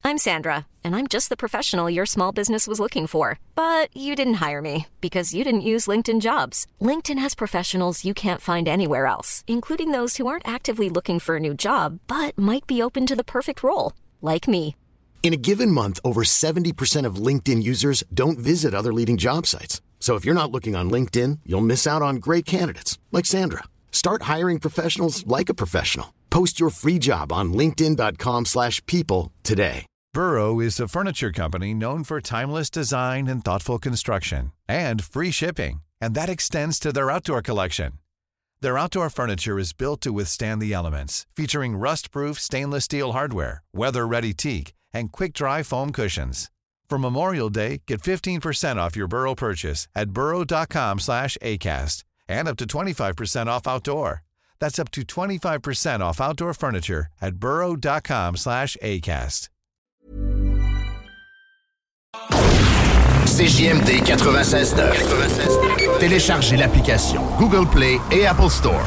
I'm Sandra, and I'm just the professional your small business was looking for. But you didn't hire me because you didn't use LinkedIn Jobs. LinkedIn has professionals you can't find anywhere else, including those who aren't actively looking for a new job, but might be open to the perfect role, like me. In a given month, over 70% of LinkedIn users don't visit other leading job sites. So if you're not looking on LinkedIn, you'll miss out on great candidates like Sandra. Start hiring professionals like a professional. Post your free job on linkedin.com/people today. Burrow is a furniture company known for timeless design and thoughtful construction and free shipping, and that extends to their outdoor collection. Their outdoor furniture is built to withstand the elements, featuring rust-proof stainless steel hardware, weather-ready teak, and quick-dry foam cushions. For Memorial Day, get 15% off your Burrow purchase at burrow.com/ACAST and up to 25% off outdoor. That's up to 25% off outdoor furniture at burrow.com/ACAST. CJMD 96.9. Téléchargez l'application Google Play et Apple Store.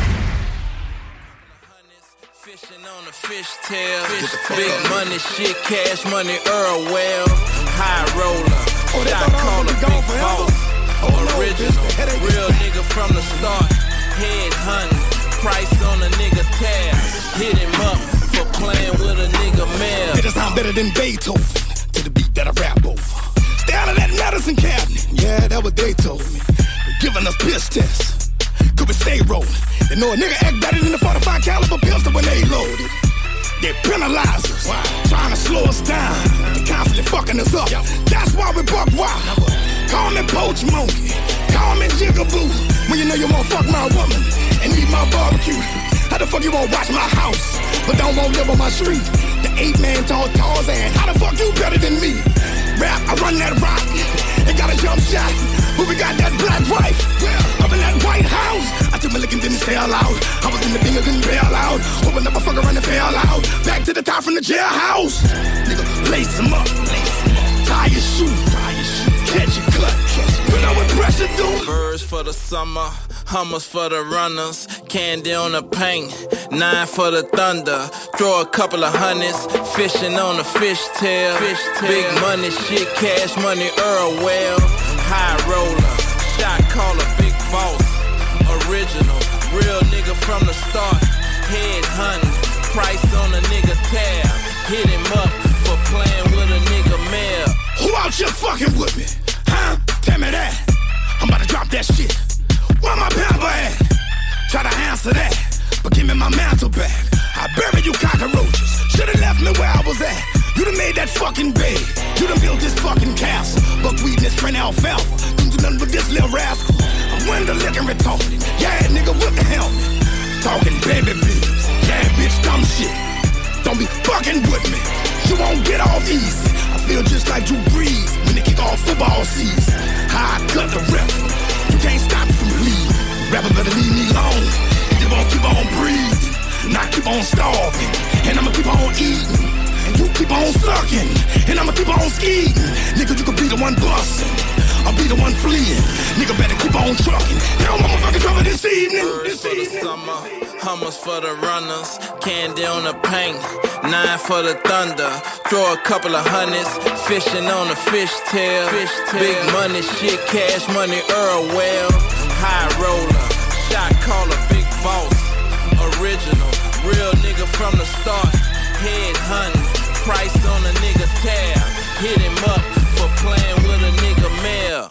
Big money, shit, cash money, Earl Well, high roller, shot caller, big boss, original, real nigga from the start, head hunting, price on a nigga tab, hit him up for playing with a nigga mail. It sound better than Beethoven, to the beat that I rap over. Stay out of that medicine cabinet, yeah, that what they told me. They're giving us piss tests, could we stay rolling? They know a nigga act better than the 45 caliber pistol when they loaded. They penalize us, trying to slow us down. They constantly fucking us up. That's why we buck wild. Call me Poach Monkey, call me Jigaboo. When you know you won't fuck my woman and eat my barbecue. How the fuck you won't watch my house, but don't want to live on my street? The 8-man tall Tarzan, how the fuck you better than me? Rap, I run that rock, and got a jump shot. But we got that black wife, up in that White House. I took my lick and didn't sell out. I was in the thing, I couldn't bail out. Opened up a fucker and it fell out. Back to the top from the jailhouse. Nigga, lace him up, tie your shoe, catch your cut. You know what pressure do? Birds for the summer, Hummers for the runners, candy on the paint, 9 for the thunder. Throw a couple of hundreds, fishing on the fishtail. Big money, shit, cash money, Earl Well, high roller, shot caller, big boss, original, real nigga from the start, head hunting, price on a nigga tab, hit him up for playing with a nigga mail. Who out here fucking with me? Huh? Tell me that. I'm about to drop that shit. Where my pamper at? Try to answer that, but give me my mantle back. I bury you cockroaches. Should've left me where I was at. You done made that fucking bed. You done built this fucking castle. Buckwheat and this friend alfalfa. Don't do nothing with this little rascal. I'm window licking retarded. Yeah, nigga with the helmet. Talking baby bills. Yeah, bitch, dumb shit. Don't be fucking with me. You won't get off easy. I feel just like Drew Brees when they kick off football season. How I cut the rep. You can't stop it from bleeding. Rapper better leave me alone. And you won't keep on breathing. And I keep on starving. And I'ma keep on eating. And you keep on sucking. And I'ma keep on skiing. Nigga, you could be the one busting. I'll be the one fleeing. Nigga better keep on trucking. Now motherfucking cover this evening. Birds for the summer, Hummers for the runners, candy on the paint, 9 for the thunder. Throw a couple of hundreds, fishing on the fishtail. Big money, shit, cash money, Earl Well, high roller, shot caller, big boss, original, real nigga from the start, head hunting, price on a nigga tab, hit him up for playing with a nigga mail.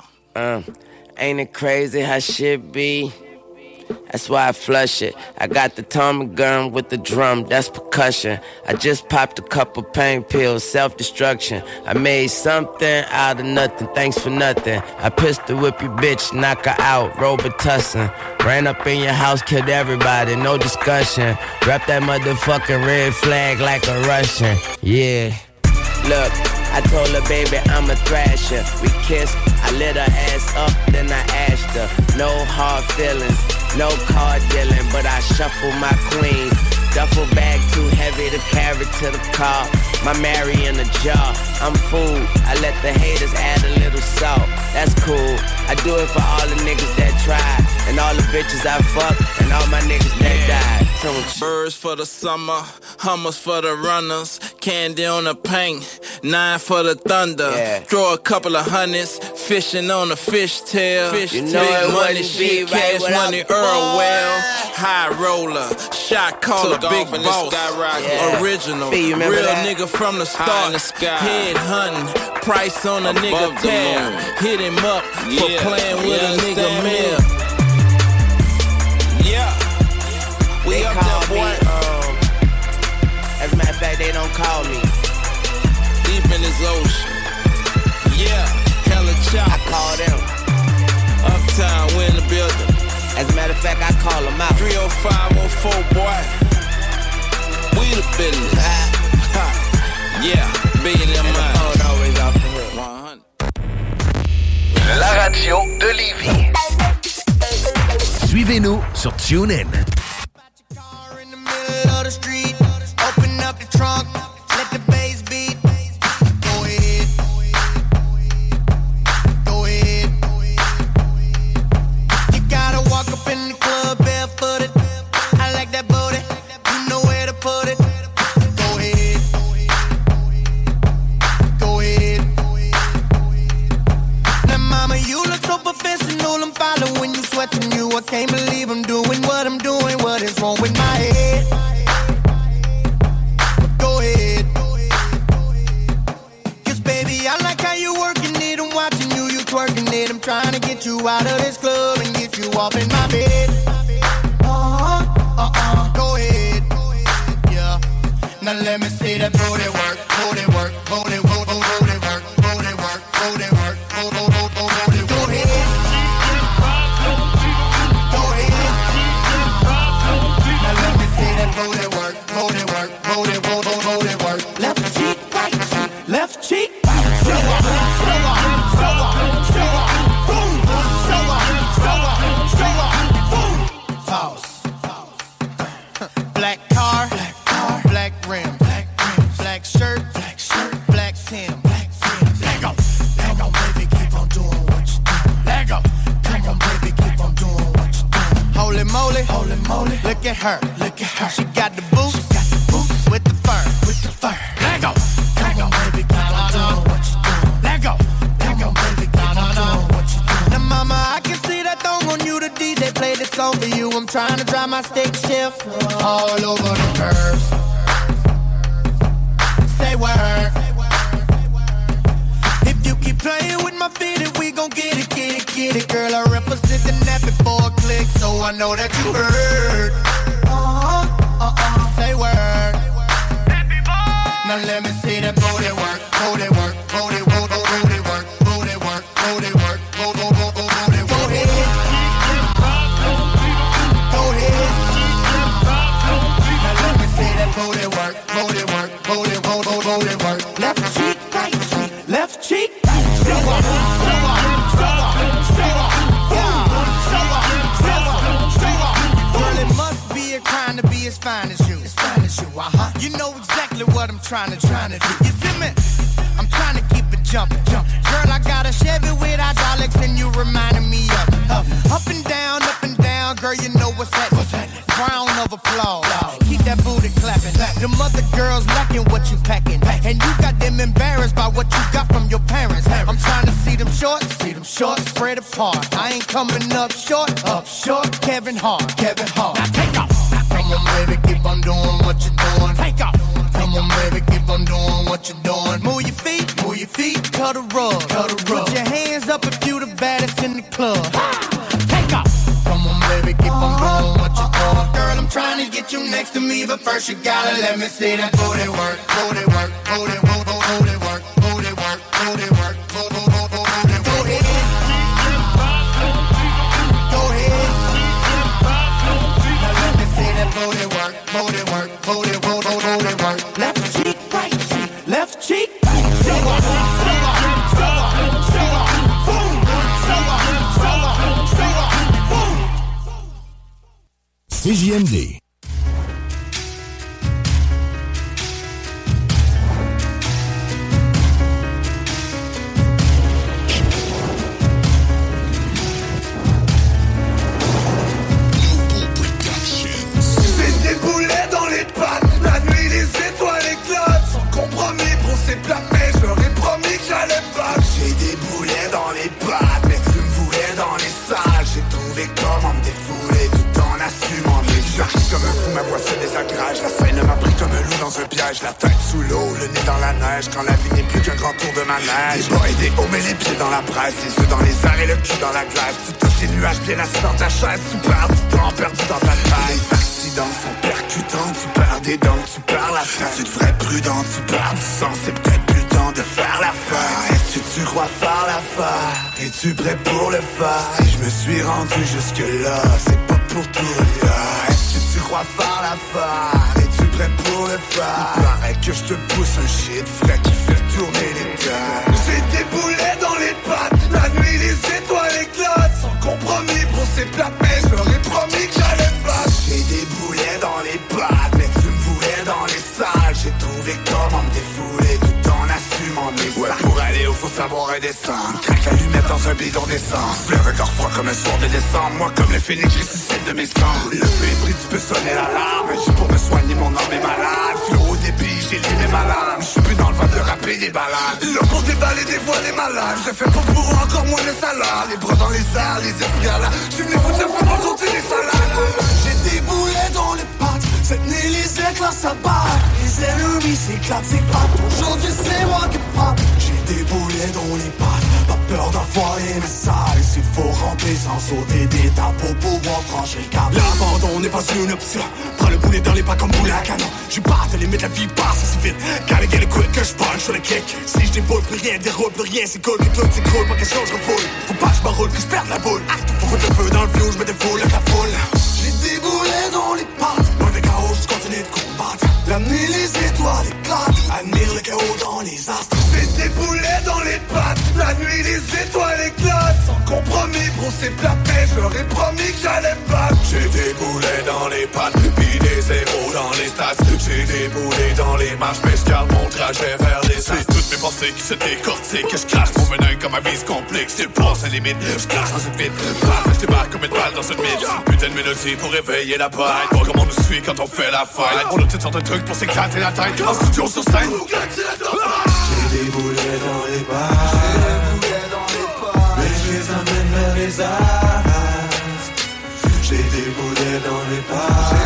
Ain't it crazy how shit be? That's why I flush it. I got the Tommy gun with the drum, that's percussion. I just popped a couple pain pills, self-destruction. I made something out of nothing, thanks for nothing. I pistol whip your bitch, knock her out, Robitussin. Ran up in your house, killed everybody, no discussion. Wrap that motherfucking red flag like a Russian, yeah. Look, I told her, baby, I'm a thrasher. We kissed, I lit her ass up, then I asked her. No hard feelings, no card dealing, but I shuffle my queens. Duffel bag too heavy to carry to the car. My Mary in a jar, I'm food. I let the haters add a little salt. That's cool, I do it for all the niggas that tried, and all the bitches I fucked, and all my niggas that died. wrong with you? Birds for the summer, hummers for the runners, candy on the paint, 9 for the thunder. Yeah. Throw a couple of hundreds, fishing on a fishtail. You know Big it money wouldn't shit, be right cash without money, the Earl boy. Well, high roller, shot caller, big boss, Yeah. original, Fee, you remember real that? nigga from the High start, in the sky. head hunting, price on a Above nigga the tab, moon. hit him up for Yeah. playing with You a nigga understand me? mill. Yeah, we They up call there, boy. me, as a matter of fact, they don't call me. Deep in this ocean. Yeah, hella I chop. call them. Uptown, we in the building. As a matter of fact, I call them out. 30514, boy. We the business. Yeah, bigger than And the mine. phone always off the hook. 100. La radio de Lévis. Suivez-nous sur TuneIn. Car in the middle of the street. Open up the trunk. Let the bass beat. Go ahead. Go ahead. You gotta walk up in the club barefooted. I like that booty. You know where to put it. Go ahead. Go ahead. Now, mama, you look so professional. I'm following you, sweating you. I can't believe I'm doing what I'm doing. What is wrong with my head? But go ahead. 'Cause baby, I like how you working it. I'm watching you, you twerking it. I'm trying to get you out of this club and get you off in my bed. Go ahead. Yeah. Now let me see that booty work, booty work, booty work, booty work, booty work, booty work, booty work, booty work. Go ahead. Go ahead. Now let me see that booty work, booty work, booty work, booty work. Left cheek, right cheek, left cheek. Show up, show up, show up, show up, boom. Show up, show up, show up, boom. Pause. Black car, black rim, black shirt, black Tim, Lego, Lego, baby, keep on doing what you doing. Lego, come on, baby, keep on doing what you doing. Holy moly, look at her, She got the boots, with the fur, Lego, come on, baby, keep on doing what you doing. Lego, come on, baby, keep on doing what you doing. Now, mama, I can see that thong on you. The DJ played this song for you. I'm trying to drive my stick shift all over the curves. Say word. If you keep playing with my feet, we gon' get it, get it, get it. Girl, I represented that before a click, so I know that you heard. Say word. Now let me see that booty work, booty work, booty work, booty work, booty work, booty work, booty work, booty work. Go ahead. Go ahead. Now let me see that booty work, booty work, booty work, booty work. Left cheek, right cheek, left cheek. Show up, show up, show up, show up, yeah. Show up, show up, show up. Girl, it must be a crime to be as fine as you. As fine as you, You know exactly what I'm trying to do. You see me? I'm trying to keep it jumping. Girl, I got a Chevy with hydraulics and you reminding me of up and down, girl, you know what's happening. Round of applause. Keep that booty clapping. The mother girls lacking what you packing. And you got them embarrassed by what you got from your parents. I'm trying to see them shorts, spread apart. I ain't coming up short, Kevin Hart. Now take off. Come on, baby, keep on doing what you're doing. Take off. Come on, baby, keep on doing what you're doing. Move your feet, cut a rug. Put your hands up if you the baddest in the club. Take off. Come on, baby, keep on doing what you're doing. Girl, I'm trying to get you next to me, but first you gotta let me see that booty work, booty work, booty work, booty work, booty work, booty work, booty work, booty work. Go ahead. Go ahead. Now let me see that booty work, booty work, booty work, booty work. Left cheek, right cheek, left cheek. Show up, show up, show up, show up, boom. Show up, show up, show up, boom. CJMD. neige, la tête sous l'eau, le nez dans la neige. Quand la vie n'est plus qu'un grand tour de manège. Des bas et des hauts, mais les pieds dans la presse, les yeux dans les airs et le cul dans la glace. Tu touches les nuages bien assis dans ta chaise, tu perds du temps perdu dans ta tête. Les accidents sont percutants, tu perds des dents, tu perds la tête. Tu devrais prudent, tu perds du sang, c'est peut-être plus le temps de faire la fête. Est-ce que tu crois faire l'affaire? Es-tu prêt pour le faire? Si je me suis rendu jusque-là, c'est pas pour tout refaire. Est-ce que tu crois faire l'affaire? Es-tu prêt pour le faire? Il paraît que je te pousse un shit frais qui fait tourner les terres. J'ai des boulets dans les pattes, la nuit les étoiles éclatent. Sans compromis, bro c'est plate, mais je leur ai promis que j'allais me battre. J'ai des boulets dans les pattes, mais tu me voulais dans les salles. J'ai trouvé comment me défouler tout en assumant mes salles. Ouais, pour aller où faut savoir redescendre. Craque l'allumette dans un bidon d'essence. Le regard froid comme un soir de décembre. Moi comme le phénix, je ressuscite de mes cendres. Le feu est pris, tu peux sonner l'alarme. Juste pour me soigner, mon âme est malade. Flow au débit, j'ai limé ma lame. Je suis plus dans le vent de rapper des balades. Là pour déballer des voiles et malades. Je fais pas pour encore moins de salade. Les bras dans les airs, les esprits à la. Je suis venu foutre le feu pour compter les salades. J'ai des boulets dans les pattes. Cette nuit les éclats s'abattent. Les ennemis s'éclatent, c'est pas. Aujourd'hui c'est moi qui frappe. J'ai des boulets dans les pattes. Pas peur d'envoyer mes salles. S'il faut ramper sans sauter d'étape pour pouvoir franchir le cap. L'abandon n'est pas une option. Prends le boulet dans les pas comme boulet à canon. J'suis pas à limite, la vie passe assez vite. Gotta get it quick que j'punch sur le kick. Si j'déboule, plus rien déroule, plus rien c'est cool. Que tout s'écroule, pas question j'refoule. Faut pas que j'm'enroule, que j'perde la boule. Faut foutre le feu dans le view, j'me défoule avec la foule. J'ai des boulets dans les pattes. Loin des chaos, j'continue de combattre. La nuit, les étoiles éclatent. Admire le chaos dans les astres. J'ai des boulets dans les pattes. La nuit, les étoiles éclatent. Sans compromis, bro, c'est plate, mais je leur ai promis que j'allais me battre. J'ai des boulets dans les pattes, puis des zéros dans les stats. J'ai des boulets dans les marches, mais je garde mon trajet vers les stats. Toutes mes pensées qui se décortiquent, que je crache mon venin comme ma vie se complique. Je dépasse la limite, je crache dans une vide. Je débarque comme une balle dans une mine. Putain de mélodie pour réveiller la bête. Voir comment on nous suit quand on fait la fête. On a toutes sortes de trucs pour s'éclater la tête. En studio sur scène. J'ai des boulets dans les pattes. Mais je les emmène vers les astres. J'ai des boulets dans les pattes.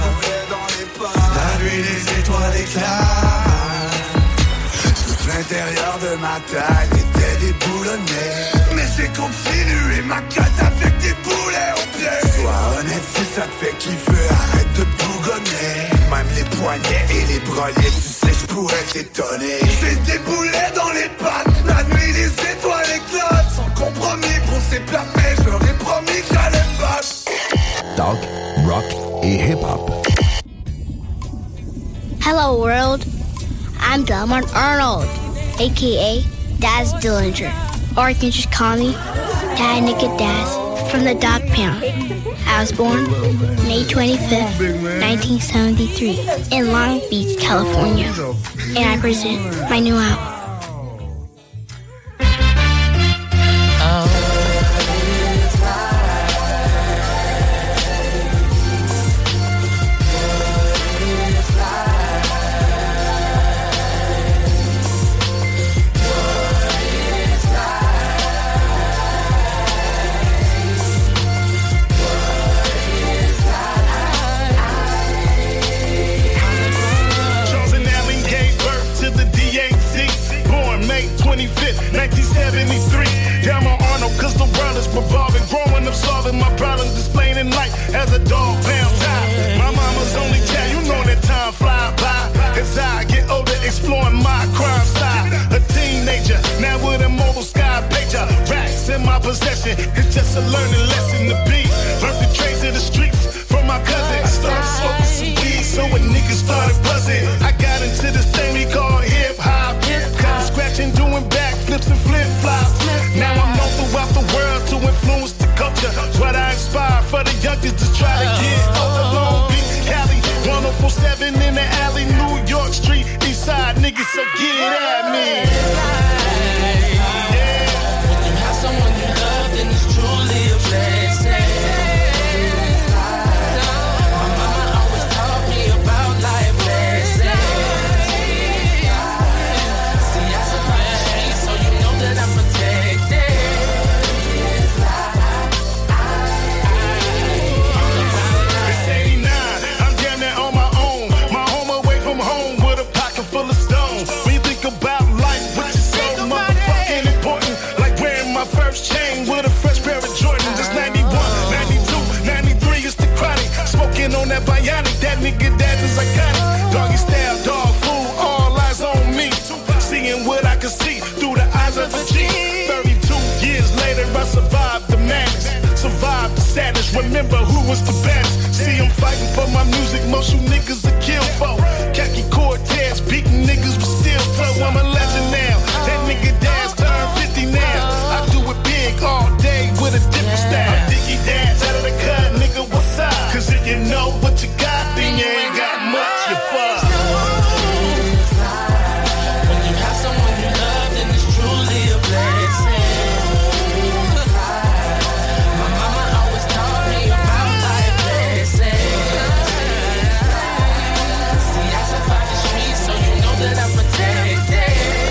La nuit les étoiles éclatent. Tout l'intérieur de ma tête était déboulonné. Mais j'ai continué ma quête avec des boulets au pied. Sois honnête si ça te fait kiffer, arrête de bougonner. Même les poignets et les broliers, tu sais je pourrais t'étonner. J'ai des boulets dans les pattes. La nuit les étoiles éclatent. Sans compromis, bro c'est plate, mais je leur ai promis que j'allais me battre. Talk, rock et hip-hop. Hello world, I'm Delmont Arnold, aka Daz Dillinger, or you can just call me Dad Nicket Daz from the Dog Pound. I was born May 25th, 1973 in Long Beach, California, and I present my new album. May 25th, 1973. Down on Arnold, cause the world is revolving. Growing up, solving my problems, displaying in light as a dog pound time. My mama's only child, you know that time fly by. As I get older, exploring my crime side. A teenager, now with a mobile sky pager. Racks in my possession, it's just a learning lesson to be. Learned the trades of the streets from my cousin. I started smoking some weed, so when niggas started buzzing, I got into this thing we call hip hop. Scratching, doing backflips and flip-flops. Now I'm known throughout the world to influence the culture. What I inspire for the youngsters to try to get off the Long Beach, Cali, 1047 in the alley, New York Street, East Side niggas, so get at me. Yeah. When you have someone you love, then it's truly a blessing. My mama always taught me about life lessons. can see through the eyes of a G. 32 years later, I survived the madness, survived the sadness. Remember who was the best. See, I'm fighting for my music, most you niggas are killed for. Khaki Cortez, beating niggas with steel toe. I'm a legend now. That nigga Daz turned 50 now. I do it big all day with a different style. I'm Diggy Daz out of the cut, nigga, what's up? Cause if you know what you got, then you ain't got much, you fuck. When you have someone you love, then it's truly a blessing. My mama always taught me about life lessons. See, I survived the streets, so you know that I'm protected.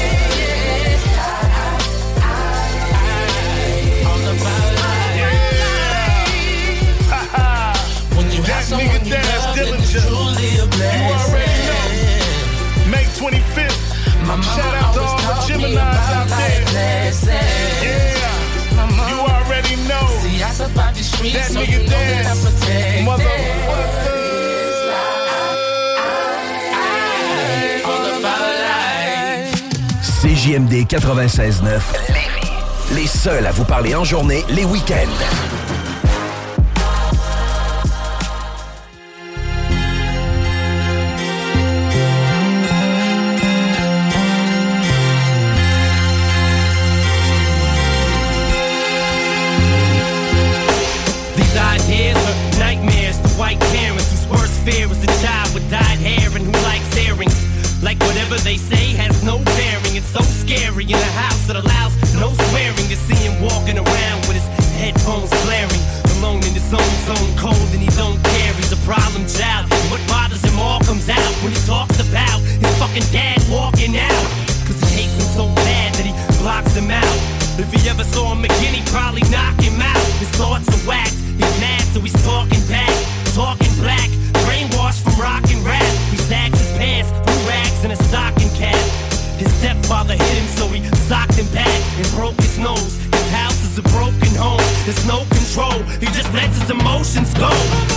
All about life. When you have someone you love, then it's truly a blessing. You already know. May 25th. Shout out to all the Geminis out there. Yeah. You already know. See, I survived the streets, that so nigga you know that I'm protected. Motherfucker. All about life. CJMD 96.9. Les seuls à vous parler en journée, les week-ends. Ideas are nightmares to white parents whose worst fear is a child with dyed hair and who likes earrings. Like whatever they say has no bearing. It's so scary in a house that allows no swearing to see him walking around with his headphones blaring. Alone in his own zone, cold and he don't care. He's a problem child. And what bothers him all comes out when he talks about his fucking dad walking out. Cause he hates him so bad that he blocks him out. If he ever saw him again, he'd probably knock him out. His thoughts are whacked. He's mad, so he's talking back, talking black, brainwashed from rock and rap. He sags his pants, threw rags and a stocking cap. His stepfather hit him, so he socked him back and broke his nose. His house is a broken home, there's no control. He just lets his emotions go.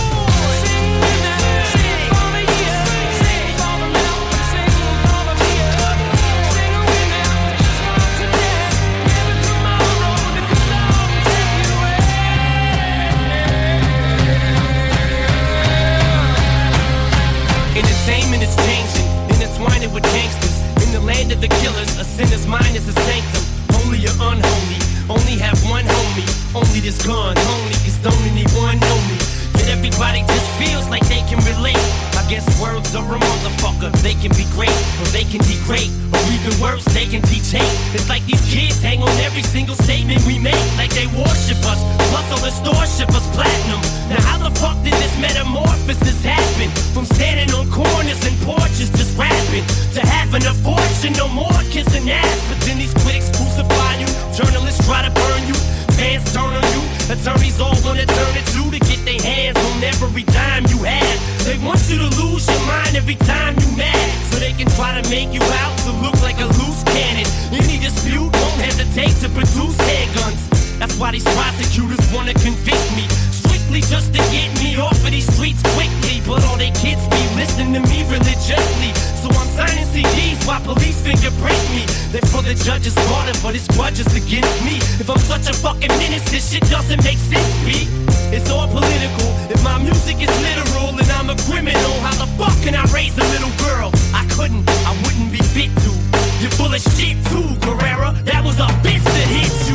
Entertainment is changing, intertwining with gangsters. In the land of the killers, a sinner's mind is a sanctum. Holy or unholy, only have one homie. Only this gun, only cause don't anyone know me. Yet everybody just feels like they can relate. I guess words are a motherfucker. They can be great, or they can degrade, or even worse, they can teach hate. It's like these kids hang on every single statement we make, like they worship us. Plus all the stores ship us platinum. Now how the fuck did this metamorphosis happen? From standing on corners and porches just rapping, to having a fortune, no more kissing ass. But then these critics crucify you, journalists try to burn you, fans turn on you, attorneys all wanna turn it to get their hands on every dime you have. They want you to lose your mind every time you mad, so they can try to make you out to look like a loose cannon. Any dispute won't hesitate to produce handguns. That's why these prosecutors wanna convict me, strictly just to get me off of these streets quickly. But all they kids be listening to me religiously, so I'm signing CDs while police fingerprint me. They're for the judge's order, but it's grudges against me. If I'm such a fucking menace, this shit doesn't make sense, B. It's all political. If my music is literal and I'm a criminal, how the fuck can I raise a little girl? I couldn't, I wouldn't be fit to. You're full of shit too, Guerrera. That was a bitch that hit you.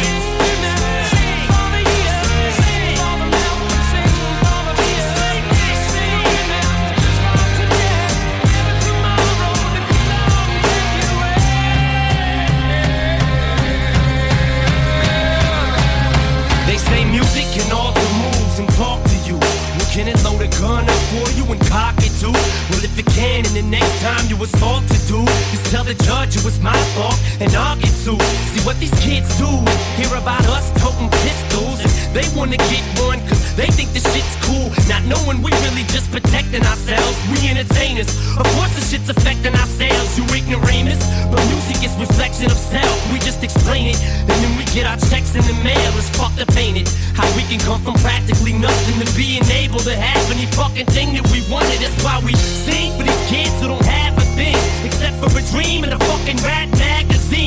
They say music can alter moves and talk to you. Well, can it load a gun up for you and cock it too? Well, if it can, and the next time you assault to do, just tell the judge it was my fault and I'll get sued. See what these kids do is hear about us toting pistols, and they wanna get one cause they think this shit's cool, not knowing we really just protecting ourselves. We entertainers, of course the shit's affecting our sales, you ignoramus. But music is reflection of self, we just explain it, and then we get our checks in the mail. It's fucked up, ain't it? How we can come from practically nothing to being able to have any fucking thing that we wanted. That's why we sing for these kids who don't have a thing except for a dream and a fucking rap magazine.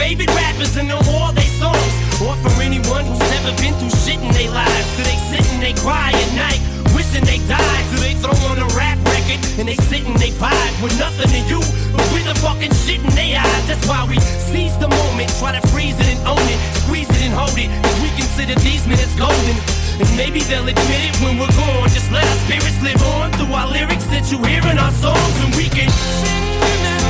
favorite rappers and know all they songs. Or for anyone who's never been through shit in their lives. So they sit and they cry at night, wishing they died. So they throw on a rap record and they sit and they vibe with nothing to you, but with the fucking shit in their eyes. That's why we seize the moment, try to freeze it and own it, squeeze it and hold it, cause we consider these minutes golden. And maybe they'll admit it when we're gone. Just let our spirits live on through our lyrics that you hear in our songs, and we can sing with them.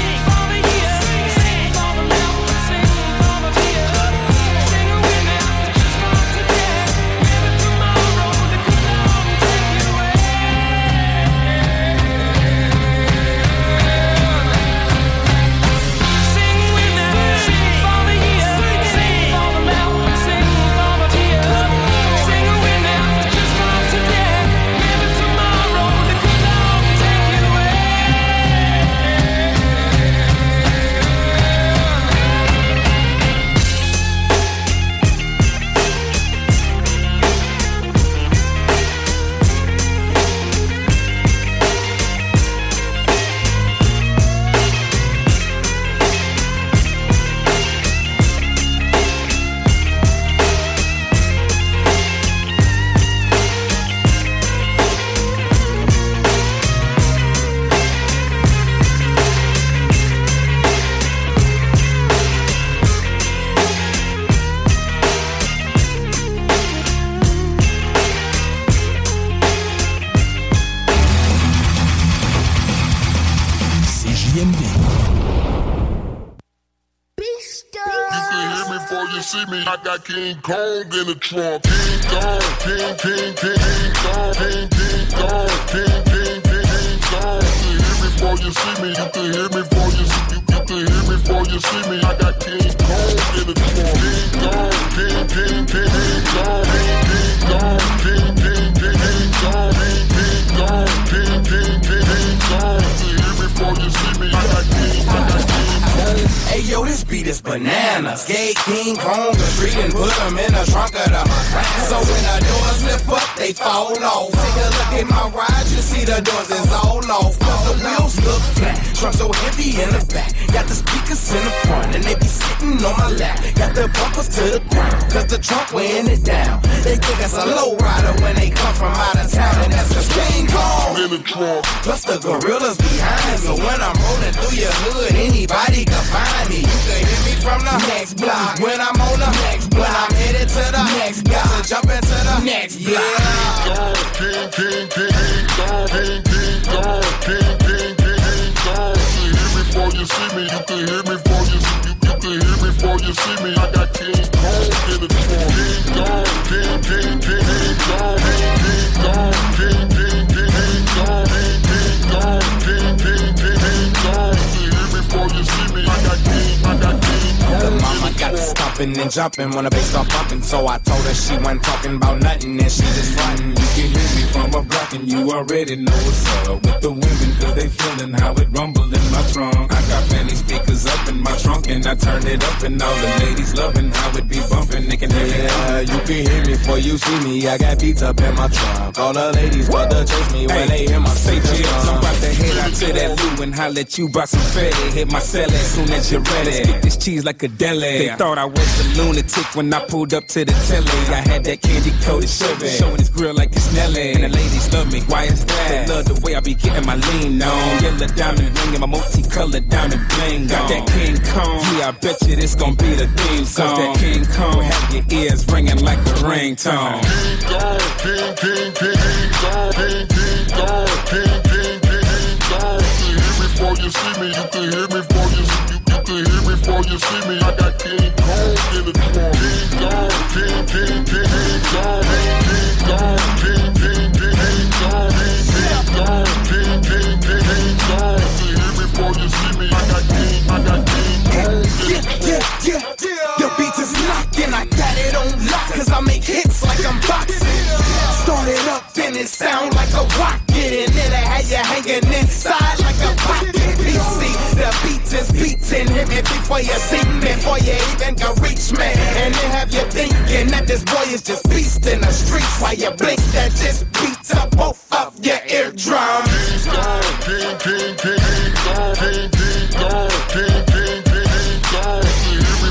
I got King Kong in the trunk. King Kong, King, King, King, King Kong, King, King Kong, King, King, King, King Kong. You can hear me before you see me. You can hear me before you see me. You can hear me before you see me. I got King Kong in the trunk. King Kong, King, King, King, King Kong, King, King Kong, King, King, King, King Kong, King, King Kong, King, King, King, King Kong. You can hear me before you see me. I got King Kong. Hey yo, this beat is bananas. Gay King Kong a treat and put him in the trunk of the Maserati. So when the doors lift up, they fall off. Take a look at my ride, you see the doors is all off. Cause the wheels look flat, trunk so heavy in the back. Got the speakers in the front and they be sitting on my lap. Got the bumpers to the ground, cause the trunk weighing it down. They think it's a low rider when they come from out of town. And that's cause King Kong in the trunk, plus the gorillas behind. So when I'm rolling through your hood, anybody can find me. You can hear me from the next block. When I'm on the next block, when I'm headed to the next block, to jump into the next block. King, King, King, King Kong, King, King Kong, King, King, King, King Kong. You can hear me before you see me. You can hear me before you see me. You can hear me before you see me. I got King Kong in the trunk. King Kong, King, King, King, King Kong, King, King Kong, King, King, King, King Kong, King, King Kong, King, King, King, King Kong. You can hear me before you see me. I got King Kong. The mama got to stomping and jumping when the bass start bumping. So I told her she wasn't talking about nothing and she just frontin'. You can hear me from a block and you already know what's up with the women, cause they feeling how it rumble in my trunk. I got many speakers up in my trunk and I turn it up and all the ladies loving how it be bumping. They can hear it. Yeah, you can hear me before you see me. I got beats up in my trunk. All the ladies want to chase me when they hear my say chill. I'm about to head out to that Lou and holler at you about some fatty. Hit my celly as soon as you're ready. Stick this cheese like a deli. They thought I was a lunatic when I pulled up to the telly. I had that candy coated Chevy, showing his grill like it's Nelly. And the ladies love me, why is that? They love the way I be getting my lean on. Yellow diamond ring and my multicolored diamond bling. Got that King Kong, yeah, I bet you this gon' be the theme song. Cause that King Kong have your ears ringing like a ringtone. King Kong, King, King, King, King Kong, King, King Kong, King, King, King, King Kong. You can hear me before you see me. You can hear me before you see me. You can hear me before you see me. I got King Kong in the trunk. King Kong, King, King, King, King Kong, King, King Kong, King, King, King, King Kong, King, King Kong, King, King, King, King Kong. You can hear me before you see me. I got King Kong in the trunk. The beat is knocking, I got it on lock, cause I make hits like I'm boxing. Started up and it sound like a rocket, and then I had you hanging inside like a pocket. PC, the beat is beating, hit me before you see me, before you even can reach me. And then have you thinking that this boy is just beast in the streets, while you blink that just beats up both of your eardrums. King, King, King, King, King, King, King, King, King, King, King, King, King. You can hear me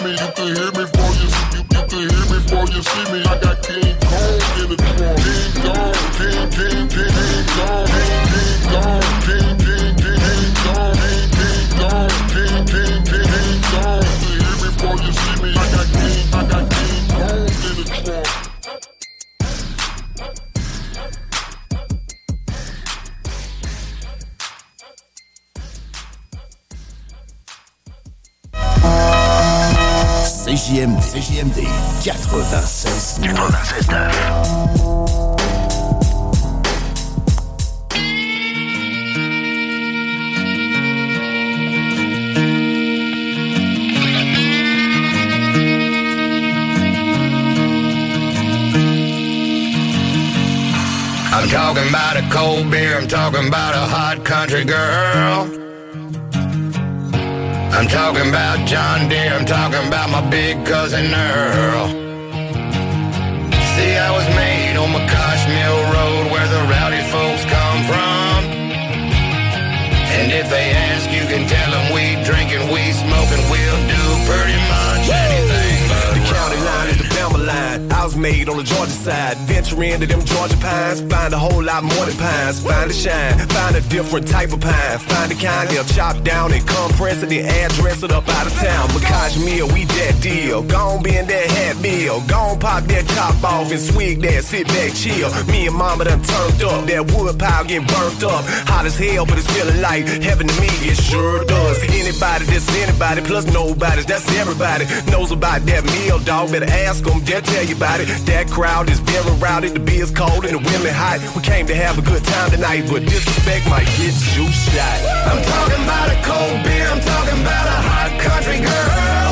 me. You can hear me before you see me. You can hear me before you see me. I got King Kong in the trunk. King Kong, King, King, King, King Kong, King Kong, King, King, King, King Kong, King Kong, King, King, King, King Kong. You can hear me before you see me. I got King Kong in the trunk. CJMD 96.9. I'm talking about a cold beer, I'm talking about a hot country girl. I'm talking about John Deere, I'm talking about my big cousin Earl. See, I was made on McCosh Mill Road where the rowdy folks come from. And if they ask, you can tell them we drinking, we smoking, we'll do pretty much anything but the county line is the Bama line. I was made on the Georgia side. Venture into them Georgia pines. Find a whole lot more than pines. Find a shine. Find a different type of pine. Find the kind they'll chop down and compress it and address it up out of town. McCosh Mill, we that deal. Gon' bend that hat meal. Gon' pop that top off and swig that, sit back, chill. Me and mama done turned up. That wood pile getting burnt up. Hot as hell, but it's feeling like heaven to me. It sure does. Anybody that's anybody plus nobody. That's everybody. Knows about that meal, dog. Better ask them, they'll tell you about it. That crowd is very rowdy. The beer's cold and the women hot. We came to have a good time tonight, but disrespect might get you shot. I'm talking about a cold beer. I'm talking about a hot country girl.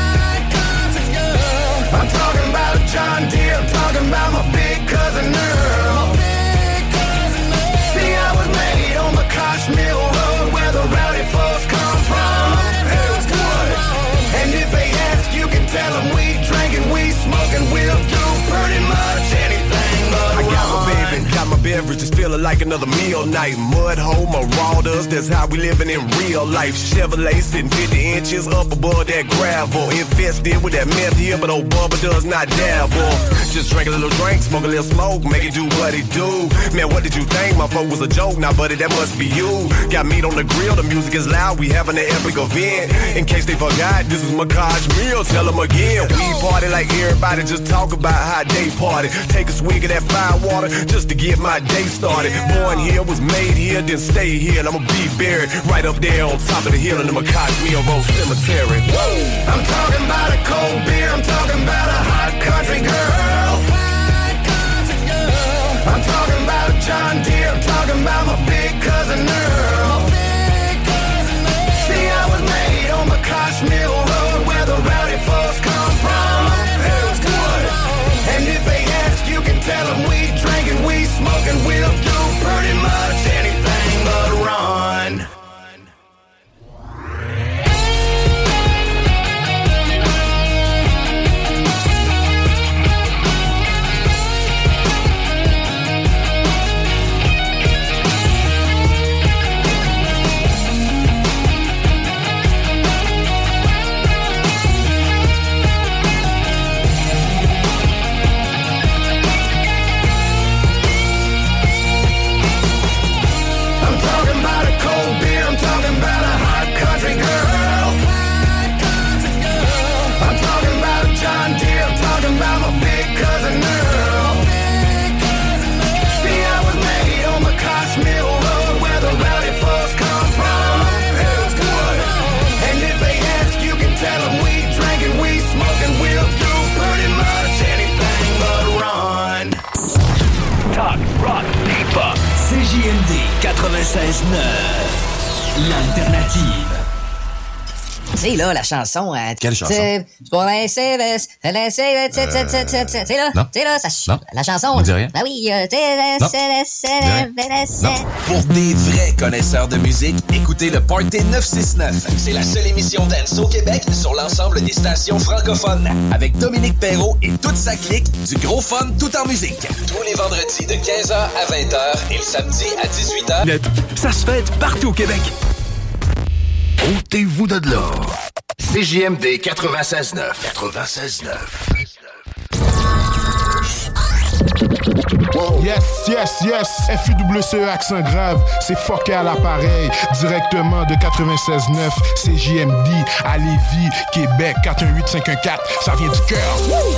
I'm talking about John Deere. I'm talking about my big cousin Earl. See, I was made on McCosh Mill Road where the rowdy folks come from. And if they ask, you can tell them we drinking, we smoking, we'll do pretty much anything but I got my baby, got my beverages, feeling like another meal night. Mud hole, marauders, that's how we living in real life. Chevrolet sitting 50 inches up above that gravel. Infested with that meth here, but old Bubba does not dabble. Just drink a little drink, smoke a little smoke, make it do what it do. Man, what did you think? My folk was a joke, now buddy, that must be you. Got meat on the grill, the music is loud, we having an epic event. In case they forgot, this is McCosh Mill, tell them again. We party like everybody, just talk about how they party. Take a swig of that fire water, just to get my day started. Born here, was made here, then stay here, and I'ma be buried right up there on top of the hill in the McCosh Mill Road Cemetery. Whoa. I'm talking about a cold beer, I'm talking about a hot country girl. I'm talking about John Deere, I'm talking about my big cousin Earl. See, I was made on McCosh Mill Road where the rowdy folks come from. And if they ask, you can tell them we drinking, we smoking, we'll do pretty much anything but run. CJMD 96.9, l'alternative. Tu sais, là, la chanson... Quelle chanson? C'est pour laisser... Tu sais, là? Non. Tu sais, là, ça... Non. La chanson... Me dis rien. Ben oui, Pour des vrais connaisseurs de musique, écoutez le Party 969. C'est la seule émission dance au Québec sur l'ensemble des stations francophones. Avec Dominique Perrault et toute sa clique, du gros fun tout en musique. Tous les vendredis de 15h à 20h et le samedi à 18h. Ça se fait partout au Québec. Ôtez-vous de là. CJMD 96.9. 96.9. Yes, FUWCE accent grave, c'est fucké à l'appareil, directement de 96.9, CJMD à Lévis, Québec, 418-514, ça vient du cœur.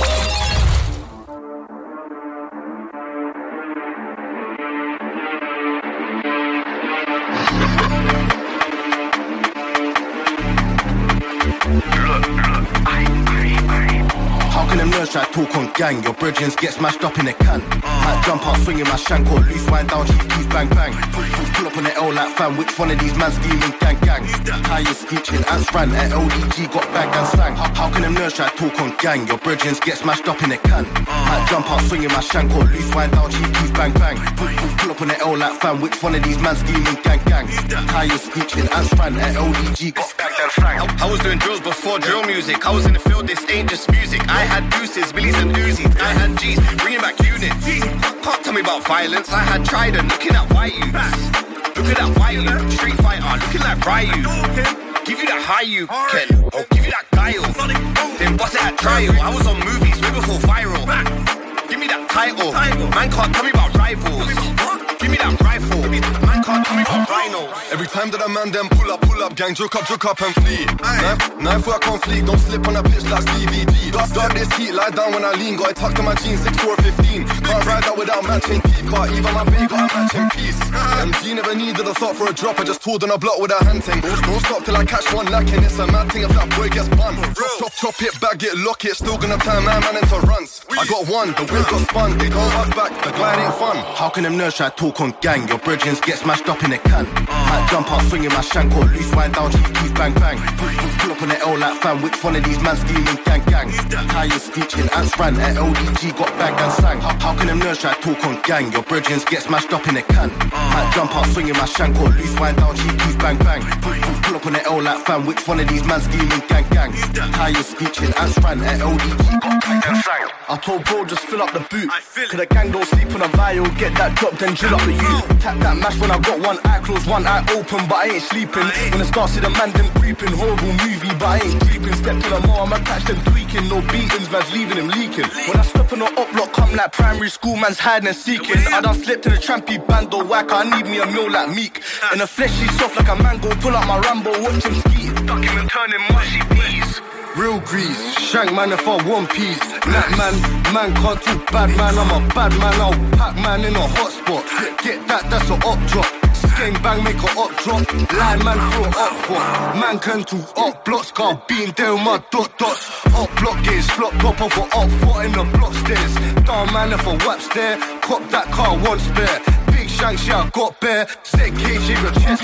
How can them nerds try to talk on gang? Your brethren get smashed up in a can. Might jump out swinging my shank or loose wind down, chief bang bang. Pull up on the L like fam, which one of these man scheming gang gang? Tires screeching, ants ran at LDG, got bagged and sang. How can them nerds try to talk on gang? Your brethren get smashed up in a can. Might jump out swinging my shank or loose wind down, chief bang bang. Pull up on the L like fam, which one of these man scheming gang gang? Tires screeching, ants ran at LDG, got bagged and sang. I was doing drills before drill music. I was in the field, this ain't just music. I had deuces, billies and Uzis. I had G's, bringing back units. Can't tell me about violence. I had Trident, looking at white youths. Look at that white youth, Street Fighter, looking like Ryu. Give you that high you can, or give you that guile. Then bust it at trial. I was on movies way before viral. Give me that title. Man can't tell me about rivals. Give me that rifle. Man can't tell me about rhinos. Every time that a man them pull up, gang, joke up and flee. Knife work on fleek, don't slip on a pitch like DVD. Dog this heat, lie down when I lean, got it tucked in my jeans, 6'4", 15. Can't ride out without matching teeth, can't even my baby got a matching piece. MG never needed a thought for a drop, I just told on a block with a hand thing. Don't stop till I catch one lacking, it's a mad thing if that boy gets bun. Chop it, bag it, lock it, still gonna turn my man into runs. I got one, the wheel got spun, they don't rush back, the glide ain't fun. How can them nerds try to talk on gang? Your brethren get smashed up in a can. Might jump out swinging my shank or loose wind down, chief bang bang. Pull up on the L like fam, which one of these man scheming gang gang? Tires screeching, ants ran at LDG, got bagged and sang. How can them nerds try to talk on gang? Your brethren get smashed up in a can. Might jump out swinging my shank or loose wind down, chief bang bang. Pull up on the L like fam, which one of these man scheming gang gang? Tires screeching, ants ran at LDG, got bagged and sang. I told bro just fill up the boot, cause the gang don't sleep on a vial. Get that drop then drill up the youth. Tap that mash when I got one eye closed, one eye open, but I ain't sleeping. When the start see the man them creeping, horrible movie, but I ain't creeping. Step to the mall, I'ma catch them tweaking. No beatings, man's leaving him leaking. When I step on the up block, come like primary school, man's hiding and seeking. I done slipped in the trampy bando whack, I need me a meal like Meek. In the flesh, he's soft like a mango, pull out my Rambo, watch him ski. Duck him and turn him mushy peas. Real grease, shank man if I one piece. Nat man can't talk bad man, I'm a bad man, I'll pack man in a hot spot. Get that's a up drop. Gang bang make a up drop. Line man throw up for. Man can do up blocks, can't be in there with my dots. Up block gauge, flop top off or up foot in the block stairs. Down man if I whap stare, cop that car one spare. Big shanks, yeah I got bare. Set cage in your chest.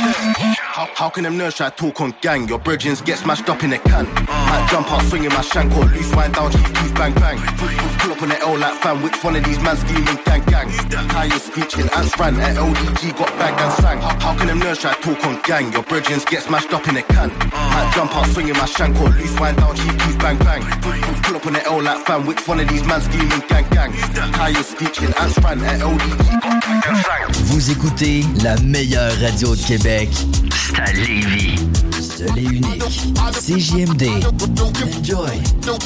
How can them nerds try to talk on gang? Your brethren get smashed up in a can. Might jump out swinging my shank or loose wind down, chief bang bang. Pull up on the L like fam, which one of these man scheming gang gang? Tires screeching, ants ran at LDG, got bagged and sang. How can them nerds try to talk on gang? Your brethren get smashed up in a can. Might jump out swinging my shank or loose wind down, chief bang bang. Pull up on the L like fam, which one of these man scheming gang gang? Tires screeching, ants ran at LDG, got bagged and sang. Vous écoutez la meilleure radio de Québec. C'est à Lévis. Seul et unique. CJMD. Enjoy.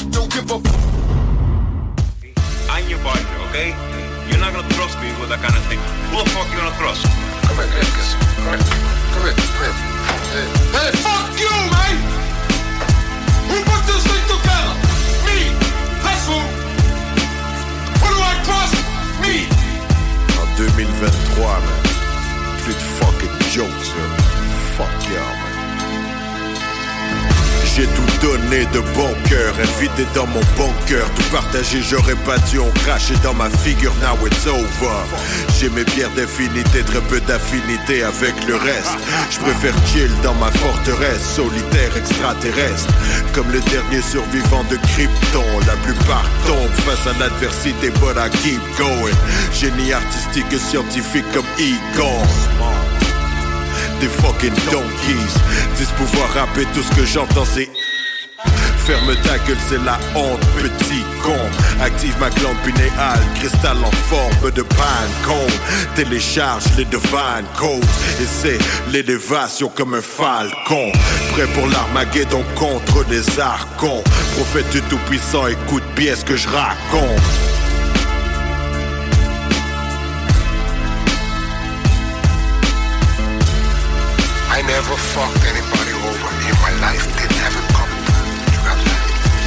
I'm your partner, okay? You're not gonna trust me with that kind of thing. Who the fuck you gonna trust? Come here. Hey, fuck you, man! Who put this thing together? Me! That's who! Who do I trust? Me! En 2023, man. Plus de fucking jokes, man. Fuck yeah, man. J'ai tout donné de bon cœur, invité dans mon bunker. Tout partagé, j'aurais pas dû en cracher dans ma figure, now it's over. J'ai mes bières d'infinité, très peu d'affinité avec le reste. Je préfère chill dans ma forteresse, solitaire extraterrestre. Comme le dernier survivant de Krypton, la plupart tombent face à l'adversité, but I keep going. Génie artistique et scientifique comme Egon. Des fucking donkeys, disent pouvoir rapper, tout ce que j'entends c'est Ferme ta gueule, c'est la honte, petit con. Active ma glande pinéale, cristal en forme de Pinecone. Télécharge les divine codes et c'est l'élévation comme un falcon. Prêt pour l'Armageddon contre les archons. Prophète du Tout-Puissant, écoute bien ce que je raconte. I never fucked anybody over in my life. Didn't have it coming. You got that?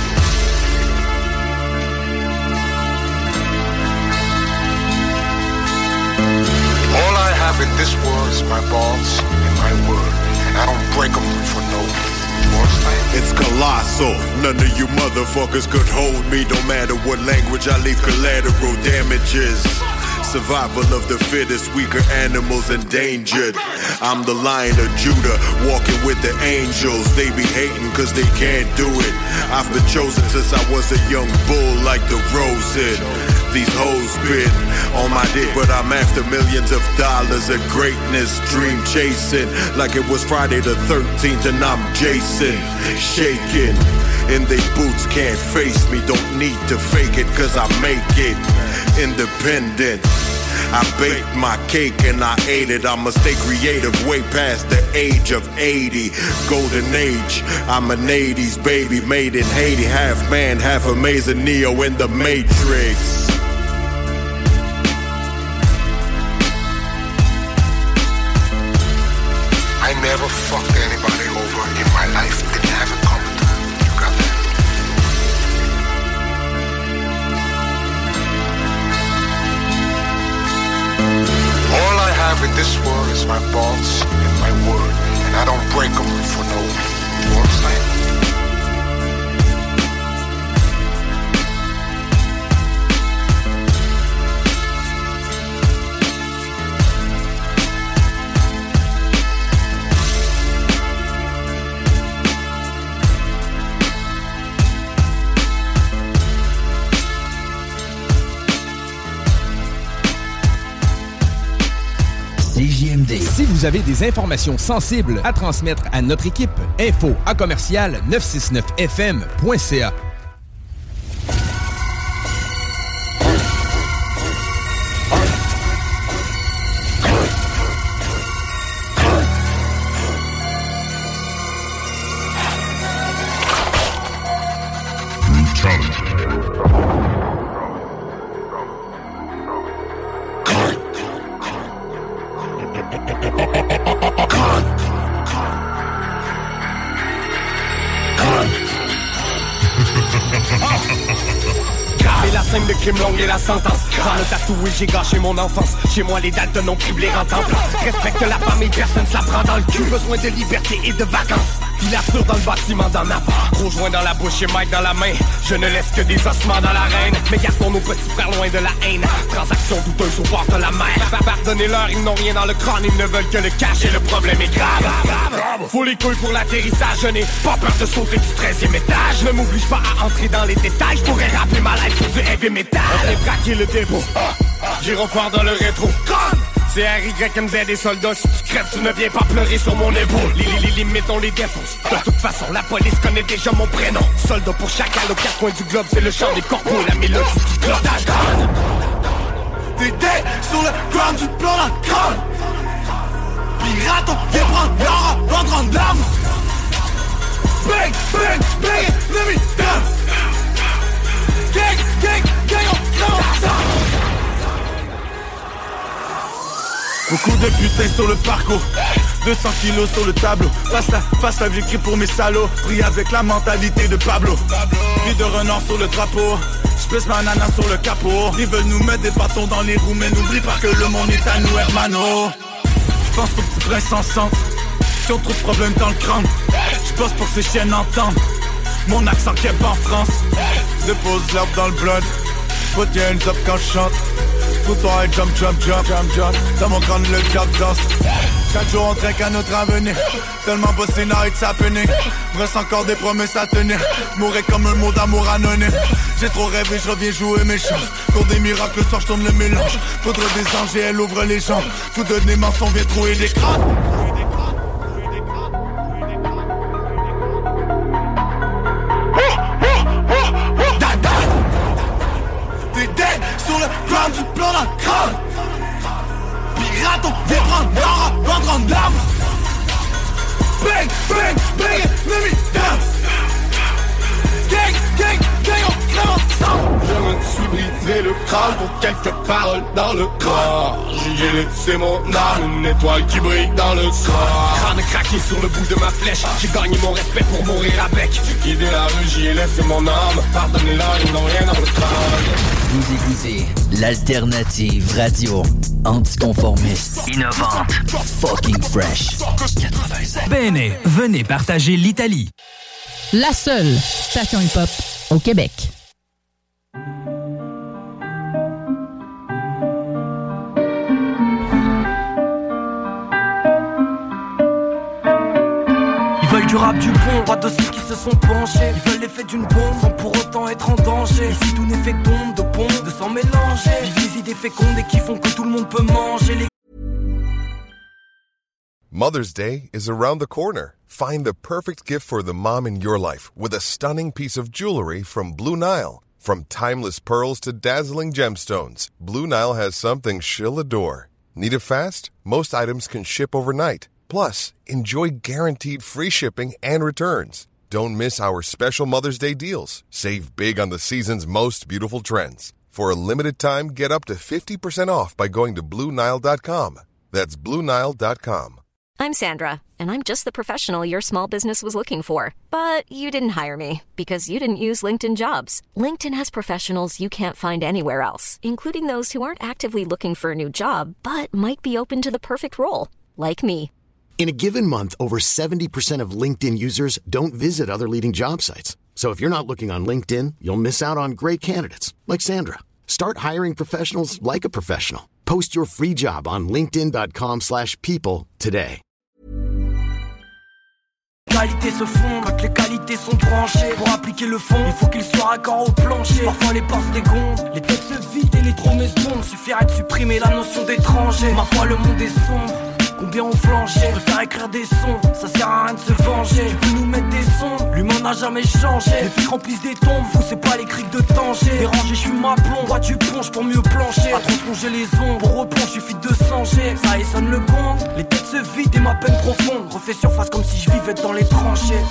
All I have in this world is my balls and my word. And I don't break them for no force. It's colossal. None of you motherfuckers could hold me. No matter what language, I leave collateral damages. Survival of the fittest, weaker animals endangered. I'm the Lion of Judah, walking with the angels. They be hating cause they can't do it. I've been chosen since I was a young bull like the Rosen. These hoes been on my dick, but I'm after millions of dollars of greatness. Dream chasing like it was Friday the 13th and I'm Jason. Shaking in they boots, can't face me. Don't need to fake it cause I make it. Independent, I baked my cake and I ate it. I'ma stay creative way past the age of 80. Golden age, I'm an 80s baby made in Haiti. Half man, half amazing Neo in the Matrix. I never fucked anybody over in my life. Didn't have it coming. You got that? All I have in this world is my balls and my word. And I don't break them for no force. CJMD. Si vous avez des informations sensibles à transmettre à notre équipe, info@969fm.ca. Et la sentence, dans le tatoué j'ai gâché mon enfance. Chez moi les dates de non criblés en temps plein. Respecte la famille, personne se la prend dans le cul. Besoin de liberté et de vacances. Il assure dans le bâtiment d'en avoir. Gros joint dans la bouche et Mike dans la main. Je ne laisse que des ossements dans l'arène. Mais gardons nos petits frères loin de la haine. Transaction douteuse au bord de la mer. Pardonnez-leur, ils n'ont rien dans le crâne. Ils ne veulent que le cash et le problème est grave. Faut les couilles pour l'atterrissage. Je n'ai pas peur de sauter du 13e étage. Ne m'oblige pas à entrer dans les détails. Je pourrais rappeler ma life pour du heavy metal. J'ai braqué le dépôt. J'irai voir dans le rétro. C'est RYMZ des soldats, si tu crèves, tu ne viens pas pleurer sur mon épaule. Les limites, on les défonce. De toute façon, la police connaît déjà mon prénom. Soldat pour chacal aux quatre coins du globe, c'est le chant des corpos, la mélodie qui clote à donne. T'es dead sur le ground, tu te plomb dans le crâne. Pirate, on vient prendre l'or, on prendre l'arme. Bang, bang, bang, ennemi down. Gang, gang, gang, on crève. Beaucoup de putains sur le parcours, 200 kilos sur le tableau. Face la j'écris pour mes salauds. Pris avec la mentalité de Pablo. Vie de renard sur le drapeau. J'place ma nana sur le capot. Ils veulent nous mettre des bâtons dans les roues, mais n'oublie pas que le monde est à nous, hermano. J'pense aux petits princes en centre. Qui ont trop de problèmes dans le crâne. J'bosse pour que ces chiennes entendent mon accent keb en France. Dépose l'herbe dans le blood. Put your hands up quand je chante. Toi et jump, jump, jump, jump, jump. Dans mon crâne le job danse. Chaque jour on trinque à notre avenir. Tellement bossé now it's happening. Reste encore des promesses à tenir. J'mourrais comme un mot d'amour anonyme. J'ai trop rêvé, je reviens jouer mes chances. Pour des miracles, le soir je tourne le mélange. Faudrait des anges et elle ouvre les jambes. Fou de des mensonges, vient trouver des crânes. briser le crâne pour quelques paroles dans le corps. J'y ai laissé mon âme, une étoile qui brille dans le corps. Crâne craqué sur le bout de ma flèche, j'ai gagné mon respect pour mourir avec. J'ai guidé la rue, j'y ai laissé mon âme. Pardonnez-la, ils n'ont rien dans le crâne. Vous écoutez l'alternative radio anticonformiste, innovante, fucking fresh. 85. Bene, venez partager l'Italie. La seule station hip-hop au Québec. Ils veulent du rap du bon, pas de ceux qui se sont penchés. Ils veulent l'effet d'une bombe sans pour autant être en danger. Ici tout n'est fait que d'ombre, de pompe, de sang mélangé. Vivent les idées fécondes et qui font que tout le monde peut manger les... Mother's Day is around the corner. Find the perfect gift for the mom in your life with a stunning piece of jewelry from Blue Nile. From timeless pearls to dazzling gemstones, Blue Nile has something she'll adore. Need it fast? Most items can ship overnight. Plus, enjoy guaranteed free shipping and returns. Don't miss our special Mother's Day deals. Save big on the season's most beautiful trends. For a limited time, get up to 50% off by going to BlueNile.com. That's BlueNile.com. I'm Sandra, and I'm just the professional your small business was looking for. But you didn't hire me because you didn't use LinkedIn Jobs. LinkedIn has professionals you can't find anywhere else, including those who aren't actively looking for a new job, but might be open to the perfect role, like me. In a given month, over 70% of LinkedIn users don't visit other leading job sites. So if you're not looking on LinkedIn, you'll miss out on great candidates like Sandra. Start hiring professionals like a professional. Post your free job on linkedin.com/people today. Les qualités se fondent quand les qualités sont branchées. Pour appliquer le fond, il faut qu'il soit raccord au plancher. Parfois les pinces dégondent, les têtes se vident et les promesses tombent. Suffirait de supprimer la notion d'étranger. Ma foi le monde est sombre. Combien on flanché, je préfère écrire des sons, ça sert à rien de se venger. Tu peux nous mettre des sons, l'humain n'a jamais changé. Les flics remplissent des tombes, vous c'est pas les criques de danger. Dérangé, je suis ma plomb, bois du plonge pour mieux plancher. À trop plonger les ombres, pour replonge, suffit de changer. Ça et sonne le gong, les têtes se vident et ma peine profonde refait surface comme si je vivais dans les tranchées.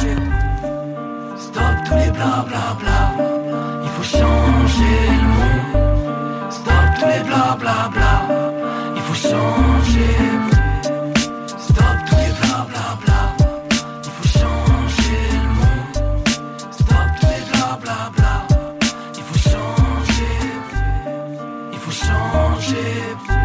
Stop tous les blablabla, il faut changer le monde. Stop tous les blablabla, il faut changer. Stop tous les blablabla, il faut changer le monde. Stop tous les blablabla, il faut changer. Il faut changer.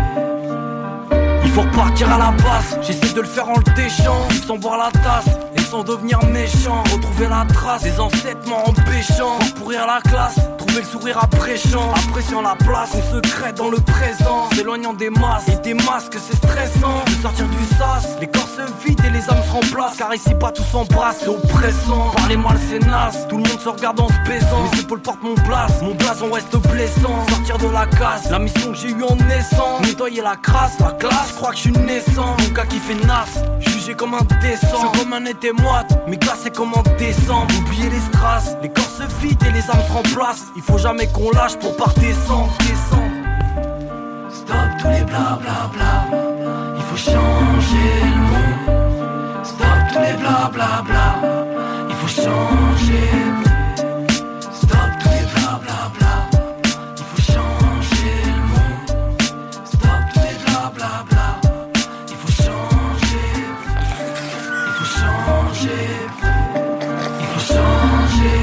Il faut repartir à la base, j'essaie de le faire en le déchant. Sans boire la tasse et sans devenir méchant. Retrouver la trace des ancêtres m'empêchant. Pourrir la classe, trouver le sourire appréciant. Appréciant la place, on se crée dans le présent. S'éloignant des masses et des masques, c'est stressant. De sortir du sas, les corps se vident et les âmes se remplacent. Car ici pas tout s'embrasse, c'est oppressant. Parler mal c'est naze, tout le monde se regarde en se baisant. Mes épaules portent mon blason reste blessant. Sortir de la casse, la mission que j'ai eue en naissant. Nettoyer la crasse, la classe, je crois que je suis naissant. Mon gars qui fait nasse, jugé comme un décent. Je comme un été moite, mais glacé comme en décembre. Oubliez les strass, les corps se vident et les âmes se remplacent. Il faut jamais qu'on lâche pour pas descendre. Stop tous les blablabla, il faut changer le monde. Stop tous les blablabla, il faut changer. Stop tous les blablabla, il faut changer le monde. Stop tous les blablabla, il faut changer. Il faut changer. Il faut changer.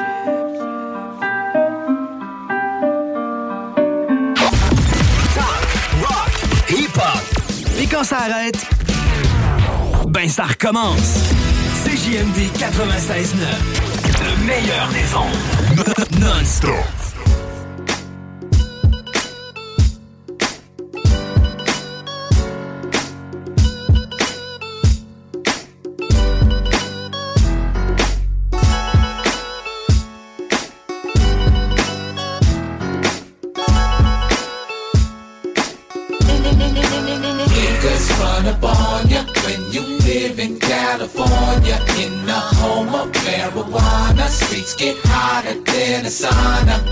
Et quand ça arrête, ben ça recommence. CJMD 96.9, le meilleur des ondes. Non-stop. Run up on ya when you live in California, in the home of marijuana. Streets get hotter than a sauna.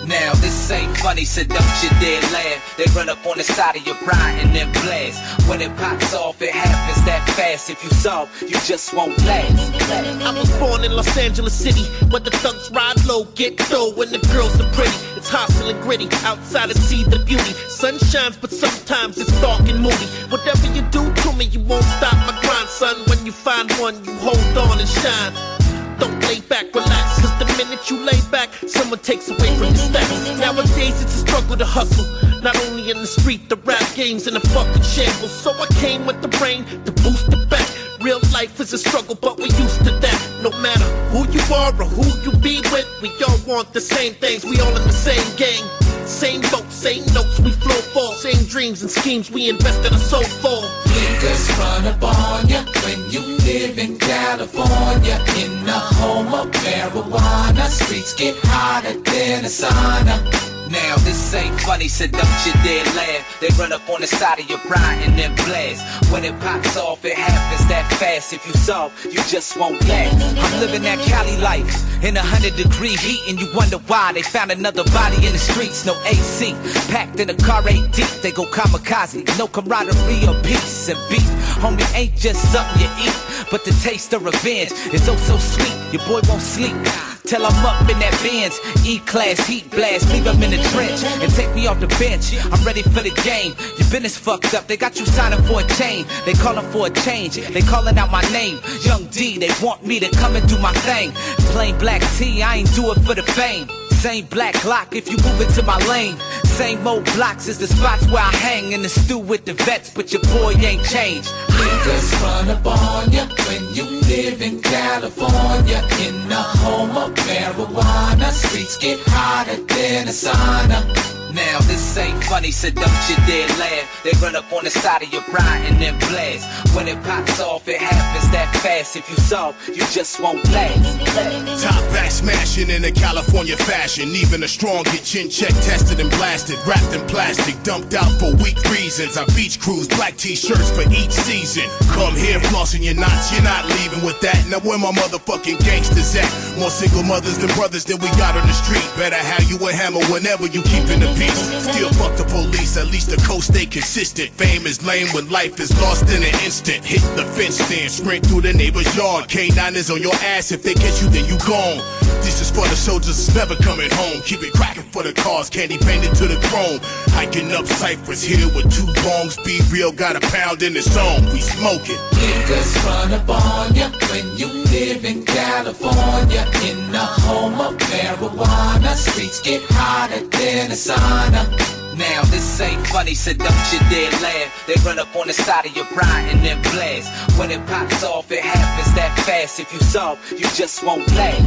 Now this ain't funny, so don't you dare laugh. They run up on the side of your pride and then blast. When it pops off, it happens that fast. If you soft, you just won't last. I was born in Los Angeles City, where the thugs ride low, get dough, and the girls are pretty. It's hostile and gritty, outside to see the beauty. Sun shines, but sometimes it's dark and moody. Whatever you do to me, you won't stop my grind, son. When you find one, you hold on and shine. Don't lay back, relax, cause the minute you lay back, someone takes away from your stats. Nowadays it's a struggle to hustle, not only in the street, the rap game's in a fucking shambles. So I came with the brain to boost it back. Real life is a struggle, but we're used to that. No matter who you are or who you be with, we all want the same things, we all in the same gang. Same boat, same notes, we flow for. Same dreams and schemes, we invest in our soul for. Niggas run up on ya when you live in California. In the home of marijuana, streets get hotter than a sauna. Now this ain't funny, so don't you dare laugh. They run up on the side of your pride and then blast. When it pops off, it happens that fast. If you soft, you just won't last. I'm living that Cali life in 100-degree heat, and you wonder why they found another body in the streets. No AC, packed in a car 8 deep. They go kamikaze, no camaraderie or peace and beef. Homie, ain't just something you eat, but the taste of revenge is oh so sweet. Your boy won't sleep till I'm up in that Benz, E-class, heat blast, leave him in the trench and take me off the bench. I'm ready for the game. Your business fucked up, they got you signing for a chain. They calling for a change, they calling out my name. Young D, they want me to come and do my thing. Plain black tee, I ain't do it for the fame. Same black lock if you move into my lane. Same old blocks is the spots where I hang in the stew with the vets, but your boy ain't changed. Niggas run up on ya when you live in California. In the home of marijuana, streets get hotter than a sauna. Now this ain't funny, so don't you dare laugh. They run up on the side of your pride and then blast. When it pops off, it happens that fast. If you soft, you just won't last. Top back smashing in a California fashion. Even a strong get chin check tested and blasted. Wrapped in plastic, dumped out for weak reasons. I beach cruise, black t-shirts for each season. Come here flossing your knots, you're not leaving with that. Now where my motherfucking gangsters at? More single mothers than brothers that we got on the street. Better have you a hammer whenever you keepin' the peace. Still fuck the police, at least the coast stay consistent. Fame is lame when life is lost in an instant. Hit the fence stand, sprint through the neighbor's yard. K9 is on your ass, if they catch you then you gone. This is for the soldiers that's never coming home. Keep it cracking for the cars, candy painted to the chrome. Hiking up Cypress Hill with 2 bongs. Be real, got a pound in the zone, we smoking. Niggas run up on ya when you live in California. In the home of marijuana, streets get hotter than a sauna. Now this ain't funny, so don't you dare laugh. They run up on the side of your pride and then blast. When it pops off, it happens that fast. If you soft, you just won't last.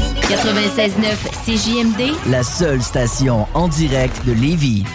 96.9 CJMD, la seule station en direct de Lévis.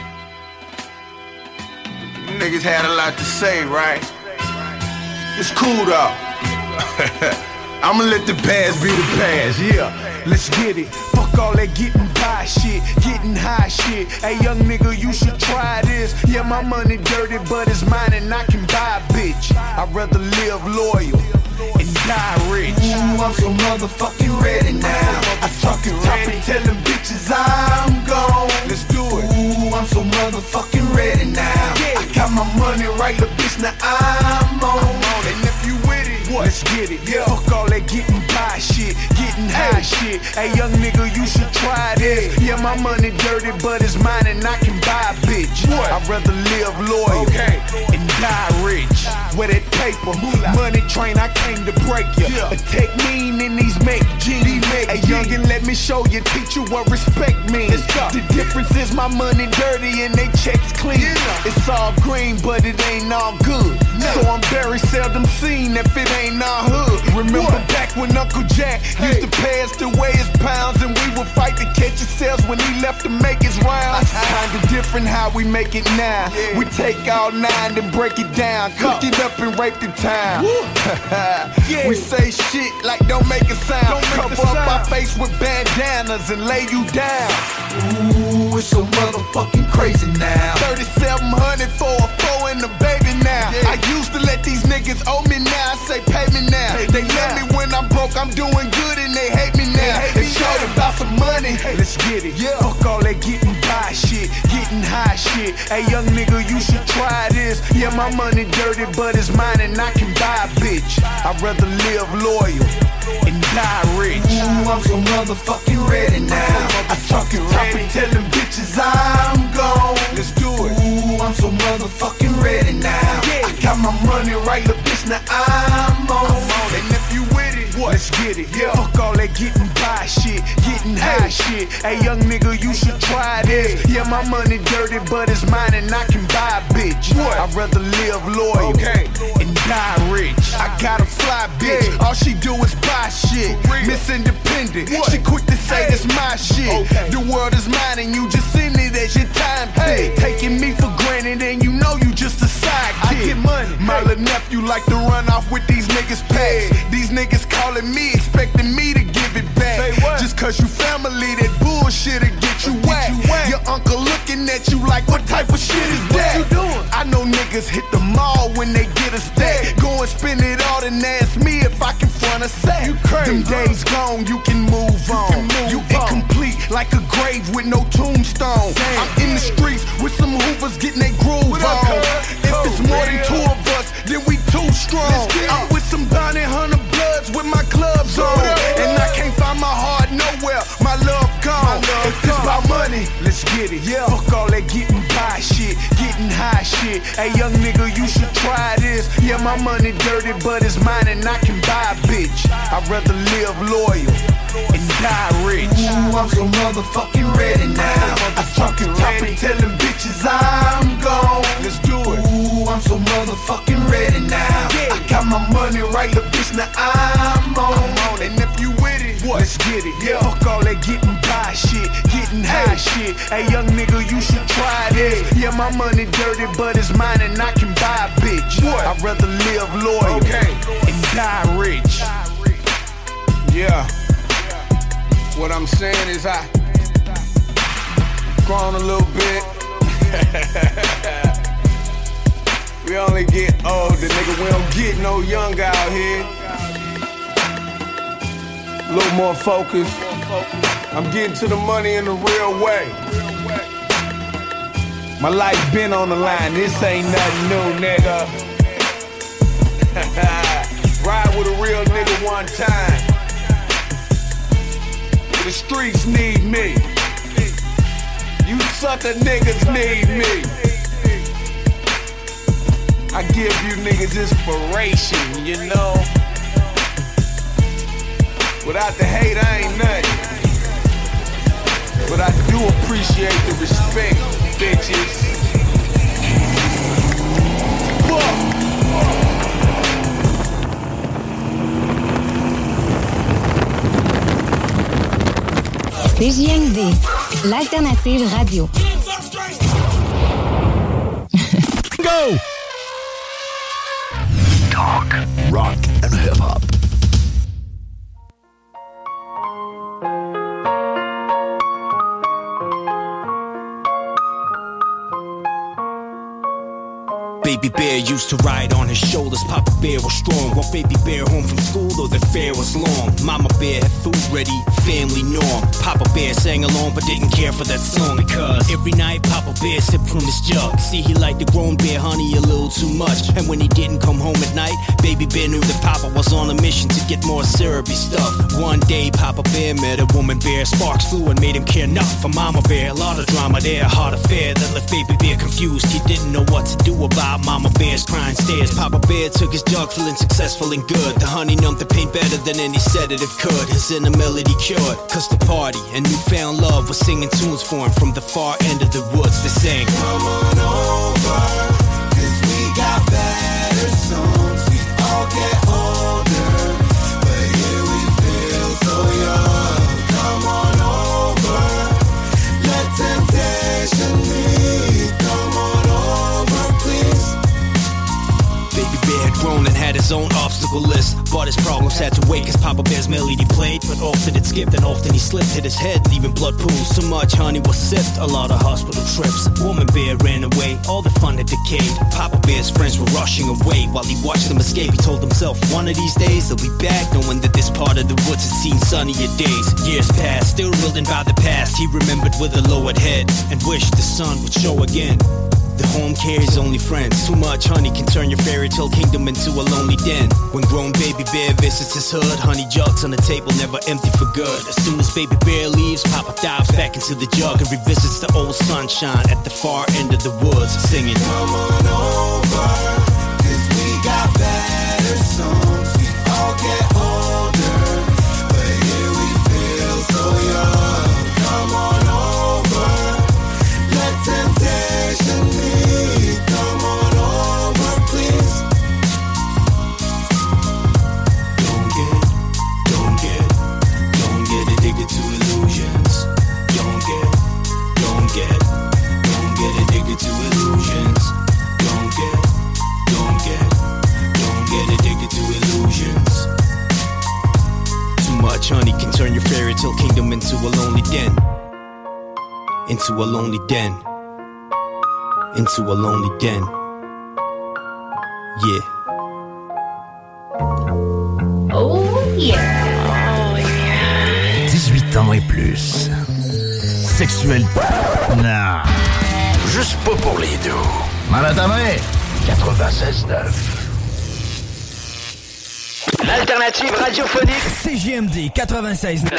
Niggas had a lot to say, right? It's cool though. I'ma let the past be the past, yeah. Let's get it. Fuck all that getting by shit, getting high shit. Hey, young nigga, you should try this. Yeah, my money dirty, but it's mine and I can buy a bitch. I'd rather live loyal and die rich. Ooh, I'm so motherfucking ready now. I fucking top and tell them bitches I'm gone. Let's do it. Ooh, I'm so motherfucking ready now. I got my money right, the bitch, now I'm on. And if you with it, what? Let's get it. Yeah. Fuck all that getting by shit, getting high shit. Hey, young nigga, you should try this. Yeah, my money dirty, but it's mine and I can buy a bitch. What? I'd rather live loyal and die rich. With that paper, money train, I came to break you. Yeah. Take mean in these make G. Hey, youngin', let me show you, teach you what respect means. The difference is my money dirty and they checks clean. Yeah. It's all green, but it ain't all good. No. So I'm very seldom seen if it ain't our hood. Remember back when Uncle Jack used to pay us to weigh his pounds, and we would fight to catch his sales when he left to make his rounds. Kinda different how we make it now. We take all 9 and break it down, cook it up and rape the town. We say shit like don't make a sound. Cover up our face with bandanas and lay you down. Ooh, it's so motherfucking crazy now. 3,700 for a 4 and a baby now. I used to let these niggas owe me, now I say pay me now. They love me when I'm broke, I'm doing good and they hate me now. It's short about some money. Let's get it. Fuck all that getting shit, getting high shit. Hey, young nigga, you should try this. Yeah, my money dirty, but it's mine and I can buy a bitch. I'd rather live loyal and die rich. Ooh, I'm so motherfucking ready now. I talking ready, telling bitches I'm gone. Let's do it. Ooh, I'm so motherfucking ready now. I got my money right, little bitch, now I'm on. And if you with it, what? Let's get it. Yeah. Fuck all that getting by shit, getting high shit. Hey, young nigga, you should try this. Yeah, my money dirty, but it's mine and I can buy a bitch. What? I'd rather live loyal and die rich. I got a fly bitch, all she do is buy shit. Miss Independent, she quick to say it's my shit. The world is mine and you just send it as your time tick. Taking me for granted and you know you just a sidekick. I get money. My little nephew like to run off with these niggas' packs. These niggas calling me, expecting me to give it back. Just cause you family, that bullshit'll get you whacked. Your uncle looking at you like, what type of shit is that? What you doing? I know niggas hit the mall when they get a stack. Go and spend it all and ask me if I can front a sack. You crazy. Them days gone, you can move on. You incomplete like a grave with no tombstone. I'm in the streets with some hoovers getting their groove on. If it's more than two of us, then we too strong. I'm with some Bounty Hunter Bloods with my gloves on. And I can't find my heart nowhere, my love gone. If it's about money, let's get it. Yeah, fuck all that getting by shit, getting high shit. Hey, young nigga, you should try this. Yeah, my money dirty, but it's mine and I can buy a bitch. I'd rather live loyal and die rich. Ooh, I'm so motherfucking ready now. I talking ready, telling bitches I'm gone. Let's do it. Ooh, I'm so motherfucking ready now. I got my money right, little bitch, now I'm on. And if you with it, what? Let's get it. Yeah, fuck all that getting by shit, getting high shit. Hey, young nigga, you should try this. Yeah, my money dirty, but it's mine and I can buy a bitch. What? I'd rather live loyal and die rich. Yeah. What I'm saying is I grown a little bit. We only get older, nigga. We don't get no younger out here. A little more focused. I'm getting to the money in the real way. My life been on the line. This ain't nothing new, nigga. Ride with a real nigga one time. The streets need me. You sucker niggas need me. I give you niggas inspiration, you know. Without the hate, I ain't nothing. But I do appreciate the respect, bitches. CJMD, l'alternative radio. Go! Talk, rock, and hip-hop. Baby Bear used to ride on his shoulders. Papa Bear was strong. While Baby Bear home from school, though the fare was long. Mama Bear had food ready, family norm. Papa Bear sang along but didn't care for that song, because every night Papa Bear sipped from his jug. See, he liked the grown bear honey a little too much. And when he didn't come home at night, Baby Bear knew that Papa was on a mission to get more syrupy stuff. One day Papa Bear met a woman bear. Sparks flew and made him care not for Mama Bear. A lot of drama there, a hard affair that left Baby Bear confused. He didn't know what to do about Mama Bear's crying stares. Papa Bear took his jug, feeling successful and good. The honey numbed the pain better than any sedative could. His inner melody cured, cause the party and newfound love was singing tunes for him from the far end of the woods. They sang, come on over, cause we got better songs. We all get older, but here we feel so young. Come on over, let temptation lead. Come on over, please. Baby Bear had grown and had his own obstacles difficult list, but his problems had to wait, cause Papa Bear's melody played, but often it skipped and often he slipped, hit his head, leaving blood pools. So much honey was sipped, a lot of hospital trips. Woman Bear ran away, all the fun had decayed. Papa Bear's friends were rushing away while he watched them escape. He told himself, one of these days they'll be back, knowing that this part of the woods had seen sunnier days. Years passed, still reeling by the past. He remembered with a lowered head and wished the sun would show again. The home carries only friends. Too much honey can turn your fairy tale kingdom into a lonely den. When grown baby bear visits his hood, honey jugs on the table never empty for good. As soon as baby bear leaves, Papa dives back into the jug and revisits the old sunshine at the far end of the woods, singing, come on over, cause we got better songs. We all get older, but here we feel so young. Come on over, let temptation lead. Come on over, please. Don't get addicted to illusions. Don't get addicted to illusions. Don't get addicted to illusions. Too much honey can turn your fairy tale kingdom into a lonely den. Into a lonely den. Into a lonely den. Yeah. Oh yeah. 18 ans et plus. Sexuel. Non. Juste pas pour les deux. Maladamé. 96.9. L'alternative radiophonique. CJMD 96.9.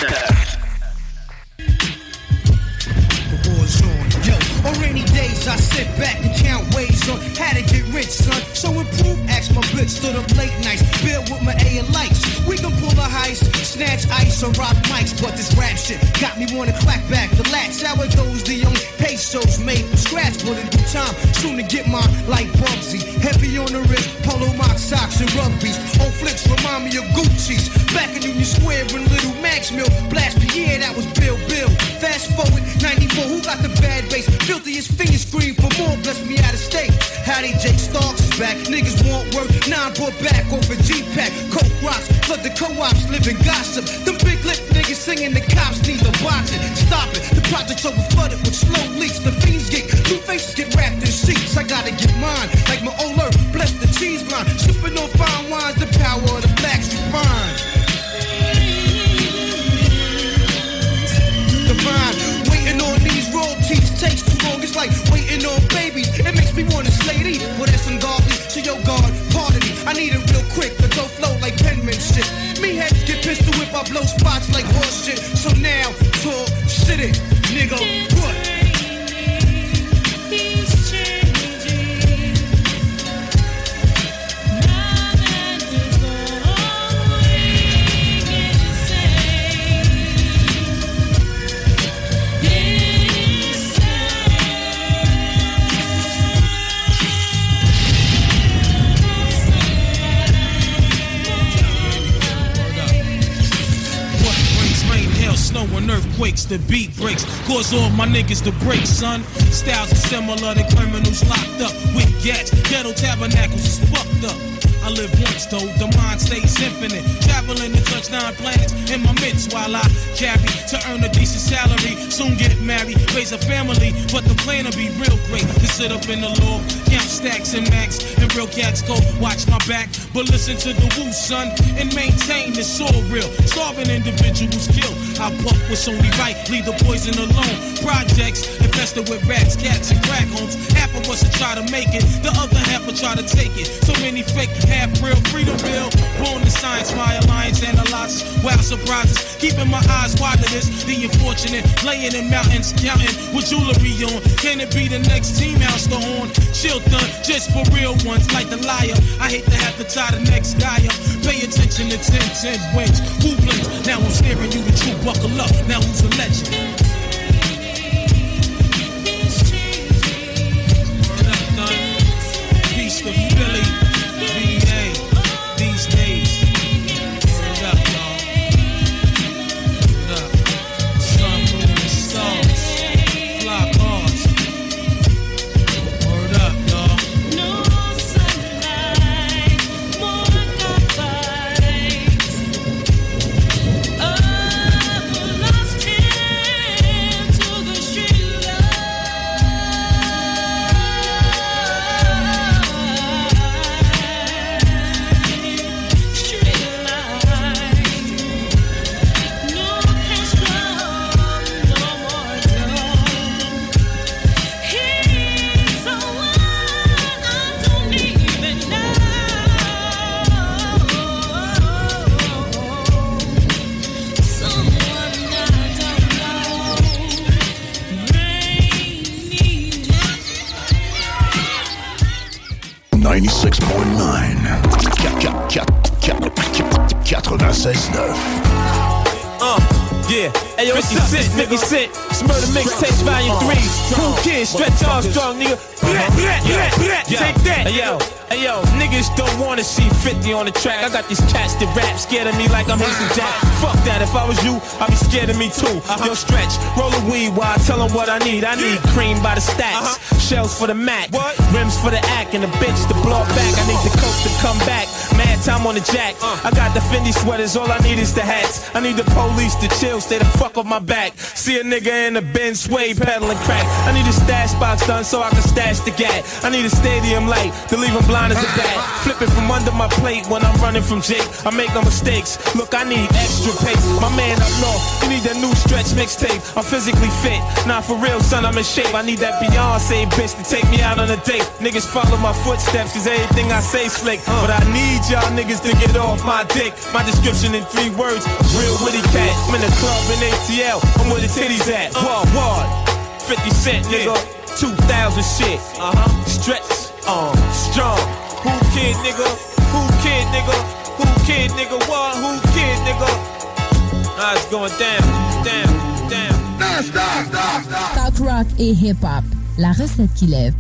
On rainy days, I sit back and count ways on how to get rich, son. So improve, ask my bitch, stood up late nights, build with my A and lights. We can pull a heist, snatch ice or rock mics, but this rap shit got me wanna clap back the latch. Sourdough's the only pesos made from scratch, but in due time, soon to get mine like Bugsy. Heavy on the wrist, polo mock socks and rugbies. Old flicks remind me of Gucci's. Back in Union Square in Little Max Mill, Blast Pierre, that was Bill. Fast forward, 94, who got the bad bass? Filthiest finger scream for more, bless me out of state. Howdy, Jake Starks is back. Niggas want work, now I brought back over G-Pack. Coke rocks, flood the co-ops, living gossip. Them big lip niggas singing the cops need to box it. Stop it, the project's over flooded with slow leaks. The fiends get, new faces get wrapped in sheets. I gotta get mine, like my old earth, bless the cheese line. Sipping on fine wines, the power of the blacks refined. Divine, waiting on these royalties takes too long. It's like waiting on babies. It makes me wanna slay these. Well, that's ungodly. So yo, God, pardon me. I need it real quick, but don't flow like penmanship. Me heads get pistol whip, I blow spots like horse shit. So now, talk, shit it, nigga, what? Snow and earthquakes, the beat breaks, cause all my niggas to break, son. Styles are similar to criminals locked up with gats. Ghetto tabernacles is fucked up. I live once though, the mind stays infinite. Traveling to touch 9 planets in my midst while I carry to earn a decent salary. Soon get married, raise a family, but the plan will be real great. To sit up in the law, count stacks and max, and real cats go watch my back. But listen to the woo, son, and maintain it's all real. Starving individuals killed. I buck what's only right, leave the poison alone. Projects infested with rats, cats, and crack homes. Half of us will try to make it, the other half will try to take it. So many fake, half real, freedom bill. Born to science, my alliance analyzes wild surprises. Keeping my eyes wide to this, the unfortunate. Laying in mountains, counting with jewelry on. Can it be the next team house to horn? Chilton, just for real ones, like the liar. I hate to have to tie the next guy up. Pay attention to 10 wins. Who blinks? Now I'm staring you the truth. Buckle up, now who's a legend? Peace to Philly, VA, these days. Word up, y'all. Word up. Sun, moon, and stars. Fly cars. Word up, y'all. No sunlight, more than 96.9. Yeah, hey yo, 50 Cent, it's Murder Mixtapes Volume 3. Cool Kids, Stretch Armstrong, nigga. Take that. Hey yo, niggas don't wanna see 50 on the track. I got these cats that rap scared of me like I'm Hazel Jack. Fuck that, if I was you, I'd be scared of me too. Yo, Stretch, roll a weed while I tell them what I need. I need cream by the stacks, shells for the Mac, rims for the act, and a bitch to blow back. I need the coke to come back, mad time on the jack. I got the Fendi sweaters, all I need is the hats. I need the police to chill, stay the fuck off my back. See a nigga in the Benz sway peddling crack. I need a stash box done so I can stash the gat. I need a stadium light to leave him blind as a bat. Flip it from under my plate when I'm running from Jake. I make no mistakes. Look, I need extra pace. My man up north, you need that new Stretch mixtape. I'm physically fit. Nah, for real, son, I'm in shape. I need that Beyonce bitch to take me out on a date. Niggas follow my footsteps, cause everything I say slick. But I need y'all niggas to get off my dick. My description in 3 words, real witty cat. I'm in the club in ATL, I'm where the titties at. Ward, 50 Cent, nigga. 2000 shit. Stretch, strong. Who kid, nigga? Who kid, nigga? Who kid, nigga? What? Who kid, nigga? Nah, it's going down. Talk rock et hip-hop, la recette qui lève.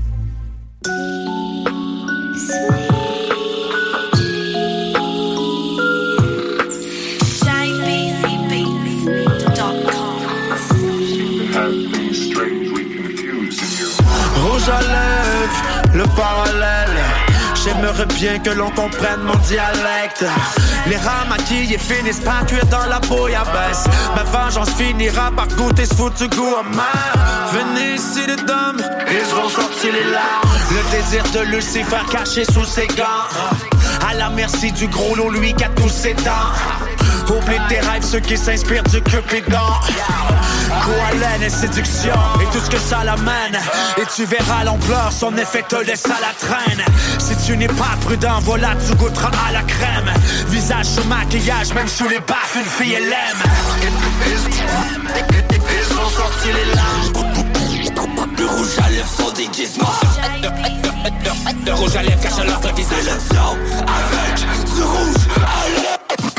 Rouge à lèvres, le parallèle. J'aimerais bien que l'on comprenne mon dialecte. Les rats maquillés finissent par cuire dans la bouillabaisse. Ma vengeance finira par goûter ce foutu goût amer. Venez ici les dames, ils vont sortir les larmes. Le désir de Lucifer caché sous ses gants. À la merci du gros lot, lui qui a tous ses dents. Oublie tes rêves, ceux qui s'inspirent du Cupidon. Coalène et séduction, et tout ce que ça l'amène. Et tu verras l'ampleur, son effet te laisse à la traîne. Si tu n'es pas prudent, voilà, tu goûteras à la crème. Visage sous maquillage, même sous les baffes, une fille elle aime. Ils ont sorti les larmes. Le rouge à lèvres, son déguisement. Le rouge à lèvres cache leur visage. Sélection avec du rouge à lèvres.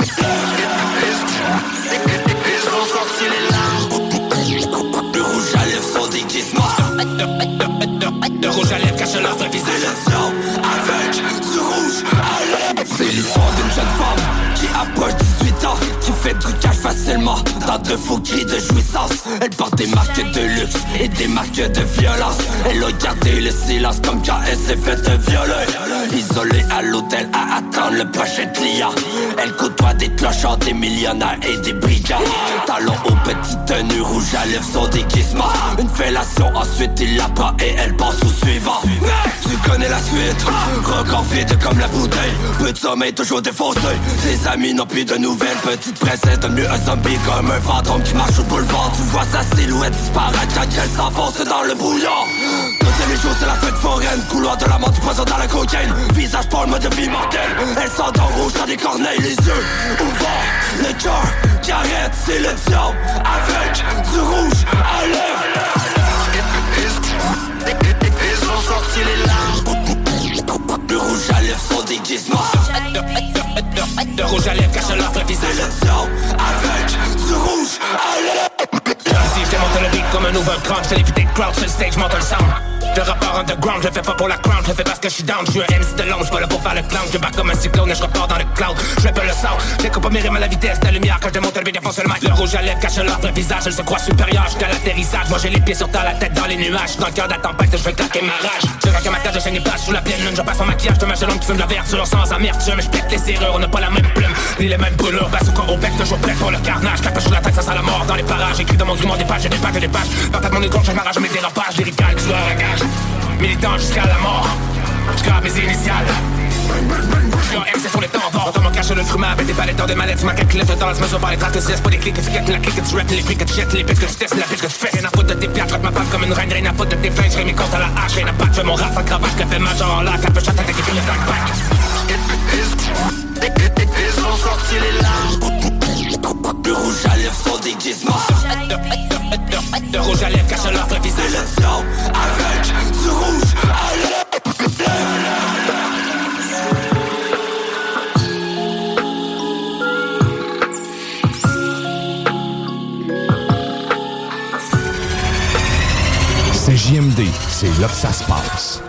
Ils ont sorti les larmes. Le rouge à lèvres, son déguisement. Le rouge à lèvres cache leur visage. Sélection avec du rouge à lèvres. C'est l'histoire d'une jeune femme qui approche 18 ans, qui fait du cash facilement dans de faux cris de jouissance. Elle porte des marques de luxe et des marques de violence. Elle a gardé le silence comme quand elle s'est fait violer. Isolée à l'hôtel à attendre le prochain client. Elle côtoie des clochards, des millionnaires et des brigands. Talons aux petites tenues, rouge à lèvres, son déguisement. Une fellation, ensuite il la prend et elle passe au suivant. Tu connais la suite, record vide comme la bouteille. Peu de sommeil, toujours défoncé. Ses amis n'ont plus de nouvelles. Petite princesse donne mieux un zombie comme un fantôme qui marche au boulevard. Tu vois sa silhouette disparaître quand elle s'enfonce dans le brouillard. Toutes les jours c'est la fête foraine. Couloir de la mort, du poison dans la cocaïne. Visage pour le mode de vie mortel. Elle s'endort rouge dans des corneilles, les yeux ouverts. Le cœur qui arrête, c'est le diable avec du rouge à lèvres. Ils ont sorti les larmes. Le rouge à lèvres, son déguisement. Le rouge à lèvres cache leur visage. Sélection avec du rouge à lèvres. Si je démonte le beat comme un overground, je te l'évite des crowds sur le stage, monte le sound. Je rappeur underground, je fais pas pour la crown, je fais parce que je suis down. Je suis un MC de long, je pas là pour faire le clown. Je bats comme un cyclone et je repars dans le cloud. Je fais pas le sound, j'écoute mes rimes à la vitesse de la lumière. Quand je démonte le beat, défonce le mic. Le rouge à lèvres cache leur visage, elle se croit supérieure jusqu'à l'atterrissage. Moi j'ai les pieds sur terre, la tête dans les nuages. Dans le cœur de la tempête, je vais claquer ma rage. Je claque ma tête, je chaîne les plages sous la pleine lune. Je passe mon maquillage, je te mâche de l'homme qui fume de la verture sans amertume. Je pète les serrures, on n'a pas la même plume, ni les mêmes brûlures. Bazooka au bec, toujours prêt pour le carnage. Capoche sur la tête, ça sent la mort dans les parages. Écrit dans mon grimoire des pages, j'ai des pages et des pages. Patate mon écorche, je m'arrache mes dérapages. Lyrical, tu à la gage. Militant jusqu'à la mort, jusqu'à mes initiales. Je suis MC sur les temps forts. Dans mon cache le fruma avec des palettes dans des mallettes. Tu m'as calculé dans la semaine par les traces que c'est pas des clics que tu guettes, la clique que tu rappes, les clics que tu jettes, les pistes que tu testes, la piste que tu fais. Rien à foutre de tes pieds, je traite ma femme comme une reine, rien à foutre de tes flingues, je mes comptes à la hache, rien à battre, je fais mon rap en cravache, je fais ma genre en lac, un peu chatte avec les filles de back. Ils ont sorti les larmes. Le rouge à lèvres, son déguisement. Le rouge à lèvres cache leur visage. Sélection avec du rouge à lèvres. CJMD, c'est là que ça se passe.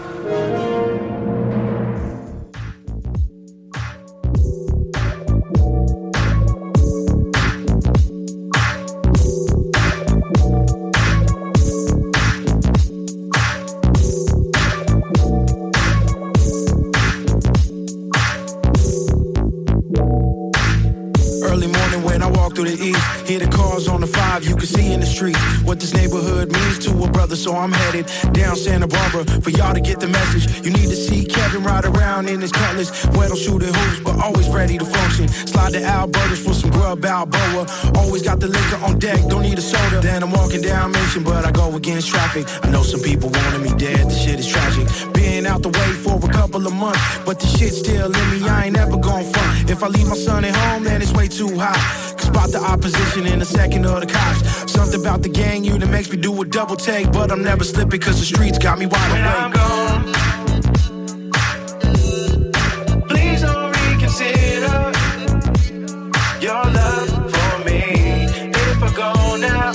Hear the cars on the 5, you can see in the street what this neighborhood means to a brother. So I'm headed down Santa Barbara for y'all to get the message. You need to see Kevin ride around in his Cutlass, where don't shoot at hoops, but always ready to function. Slide to Alberta's for some grub Balboa. Always got the liquor on deck, don't need a soda. Then I'm walking down Mission, but I go against traffic. I know some people wanted me dead, the shit is tragic. Been out the way for a couple of months, but the shit still in me, I ain't never gon' front. If I leave my son at home, then it's way too hot. Spot the opposition in a second of the cops. Something about the gang unit makes me do a double take, but I'm never slipping cause the streets got me wide awake. When I'm gone, please don't reconsider your love for me. If I go now,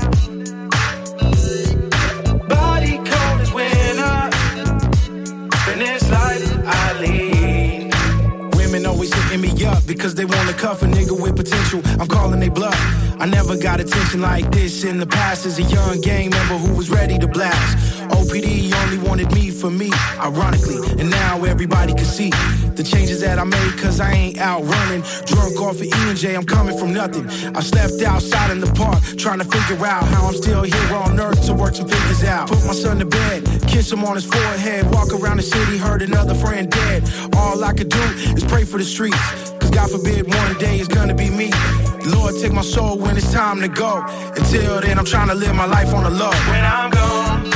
body cold as winter, in this life I lead. Women always hitting me up because they wanna cuff a nigga with potential. I'm calling they bluff. I never got attention like this in the past as a young gang member who was ready to blast. OPD only wanted me for me, ironically, and now everybody can see the changes that I made cause I ain't out running. Drunk off of E&J, I'm coming from nothing. I slept outside in the park trying to figure out how I'm still here on earth to work some figures out. Put my son to bed, kiss him on his forehead, walk around the city, heard another friend dead. All I could do is pray for the streets, cause God forbid one day it's gonna be me. Lord, take my soul when it's time to go. Until then, I'm trying to live my life on the low. When I'm gone,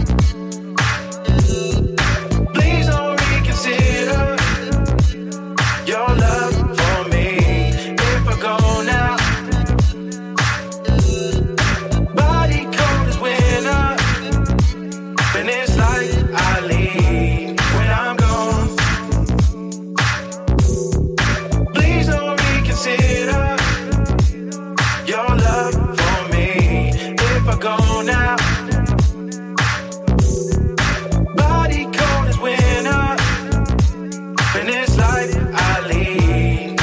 please don't reconsider your love for me. If I go now, body cold as winter, and it's like I leave. When I'm gone, please don't reconsider your love for me. If I go now, body cold as winter, and it's like I leave.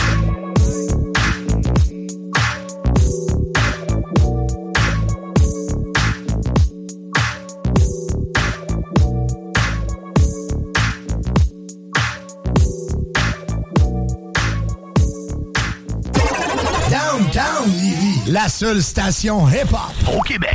Downtown Lévis, la seule station hip-hop au Québec.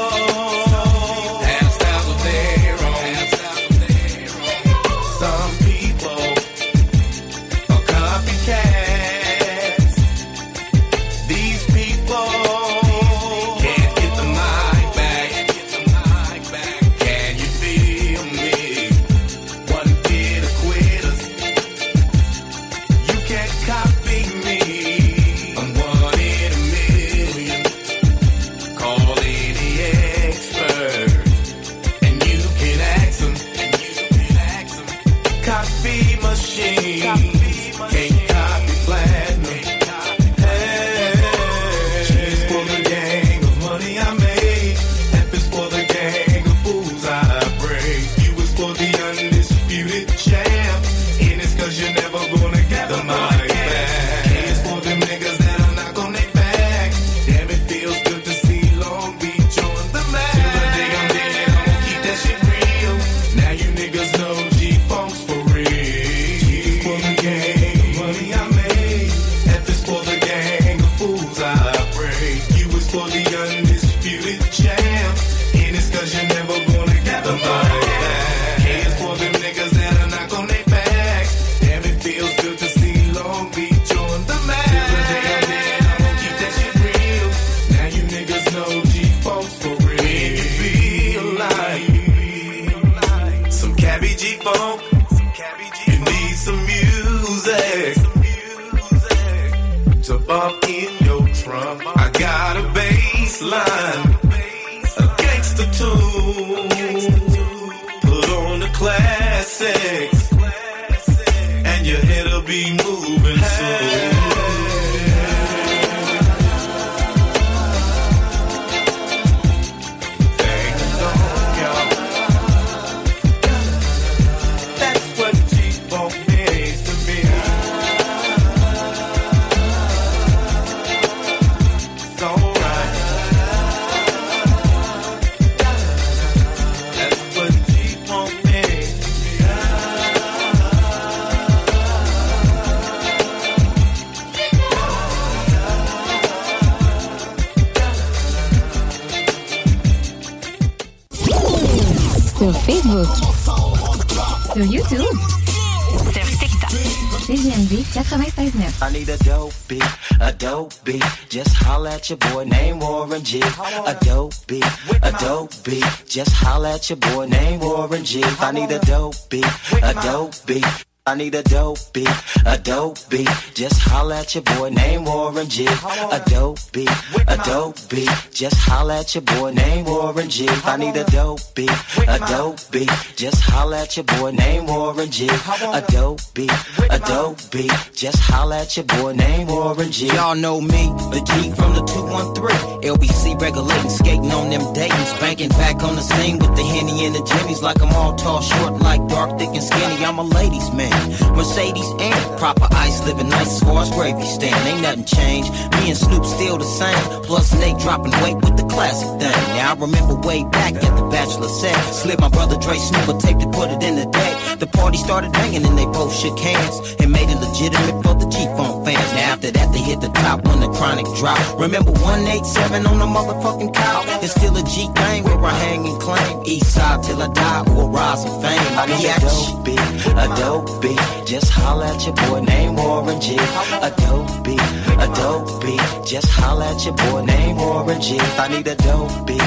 Some people favorite jam. And it's cause you're never gonna get the money back. K is for them niggas that are not on their back. Damn, it feels good to see Long Beach on the map. Till the day I'm dead, I'm gonna keep that shit real. Now you niggas know G-Funk's for real. When you feel like some cabbie G-Funk, you need some music to bump in your trunk. I got a bass line, a gangster tune. Put on the classics, and your head'll be moving soon. Sur Facebook, sur YouTube, sur TikTok, CJMD 96.9. I need a dope beat, just holla at your boy named Warren G. A dope beat, just holla at your boy named Warren G. I need a dope beat, I need a dope beat, just holla at your boy named Warren G. A dope beat, just holla at your boy named Warren G. I need a dope beat, just holla at your boy named Warren G. A dope beat, just holla at your boy named Warren G. Y'all know me, the G from the 213. LBC regulating, skating on them Daytons, banking back on the scene with the Henny and the Jimmys, like I'm all tall, short, like dark, thick, and skinny. I'm a ladies' man. Mercedes and proper ice, living nice as far as gravy stand. Ain't nothing changed. Me and Snoop still the same. Plus Nate dropping weight with the classic thing. Now I remember way back at the Bachelor set, slid my brother Dre Snoop a tape to put it in the day. The party started banging and they both shook hands and made it legitimate for the G-Funk fans. Now after that they hit the top when the Chronic dropped. Remember 187 on the motherfucking couch? It's still a G thing where I hang and claim. East side till I die or rise in fame. I need a dope beat, just holla at your boy named Warren G. A dope beat, just holla at your boy named Warren G. I need a dope beat,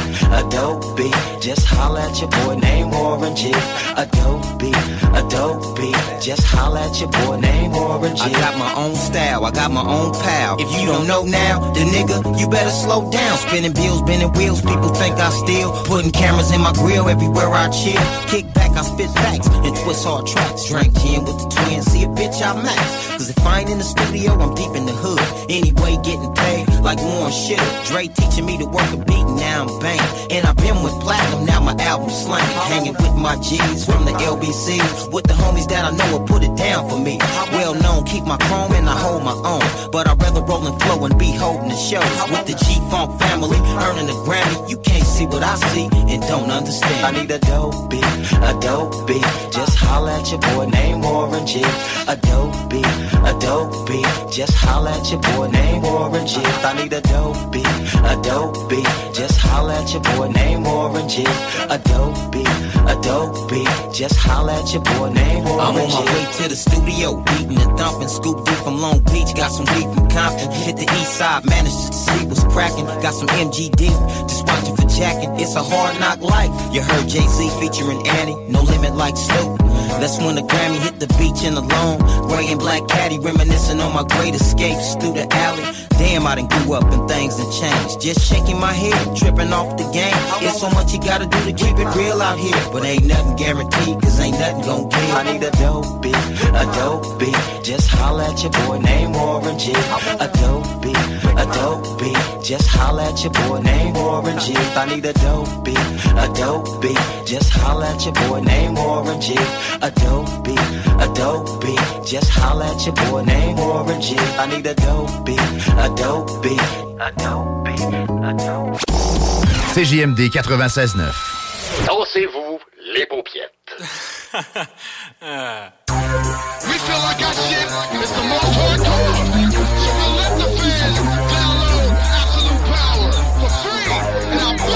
just holla at your boy named Warren G. A dope beat, just holla at your boy named Warren G. I got my own style, I got my own pal. If you don't know now, then nigga, you better slow down. Spinning bills, bending wheels, people think I steal. Putting cameras in my grill everywhere I chill. Kick back, I spit facts and twist hard tracks. Drink gin with the twins, see a bitch I max. Cause if I ain't in the studio, I'm deep in the hood. Anyway, getting paid like Warren shit. Dre teaching me to work a beat, now I'm banging. And I've been with Platinum, now my album's slanging. Hanging with my G's from the LBC, with the homies that I know will put it down for me. Well known, keep my chrome and I hold my own. But I'd rather roll and flow and be holding the show. With the G-Funk family, earning a Grammy. You can't see what I see and don't understand. I need a dope beat, just holla at your boy named Warren G. A dope beat, just holla at your boy named Warren G. I need a dope beat, just holla at your boy named Warren G. A dope beat, just holla at your boy named Warren G. I'm on my way to the studio, beating and thumping. Scoop deep from Long Beach, got some beef from Compton. Hit the east side, managed to see what's cracking. Got some MGD, just watching for jacking. It's a hard knock life. You heard Jay-Z featuring Annie, no limit like Snoop. That's when the Grammy hit the beach in the lawn. Gray and black caddy, reminiscing on my great escapes through the alley. Damn, I done grew up and things done changed. Just shaking my head, tripping off the game. It's so much you gotta do to keep it real out here. But ain't nothing guaranteed, cause ain't nothing gon' give. I need a dope beat, just holla at your boy named Warren G. A dope beat, just holla at your boy named Warren G. I need a dope beat, just holla at your boy named Warren G. A dope beat, just holla at your boy named Warren G. I need a dope beat, CJMD 96.9. Dansez-vous les paupiètes. We feel like our shit is the most hardcore. So I let the fans download Absolute Power for free. And I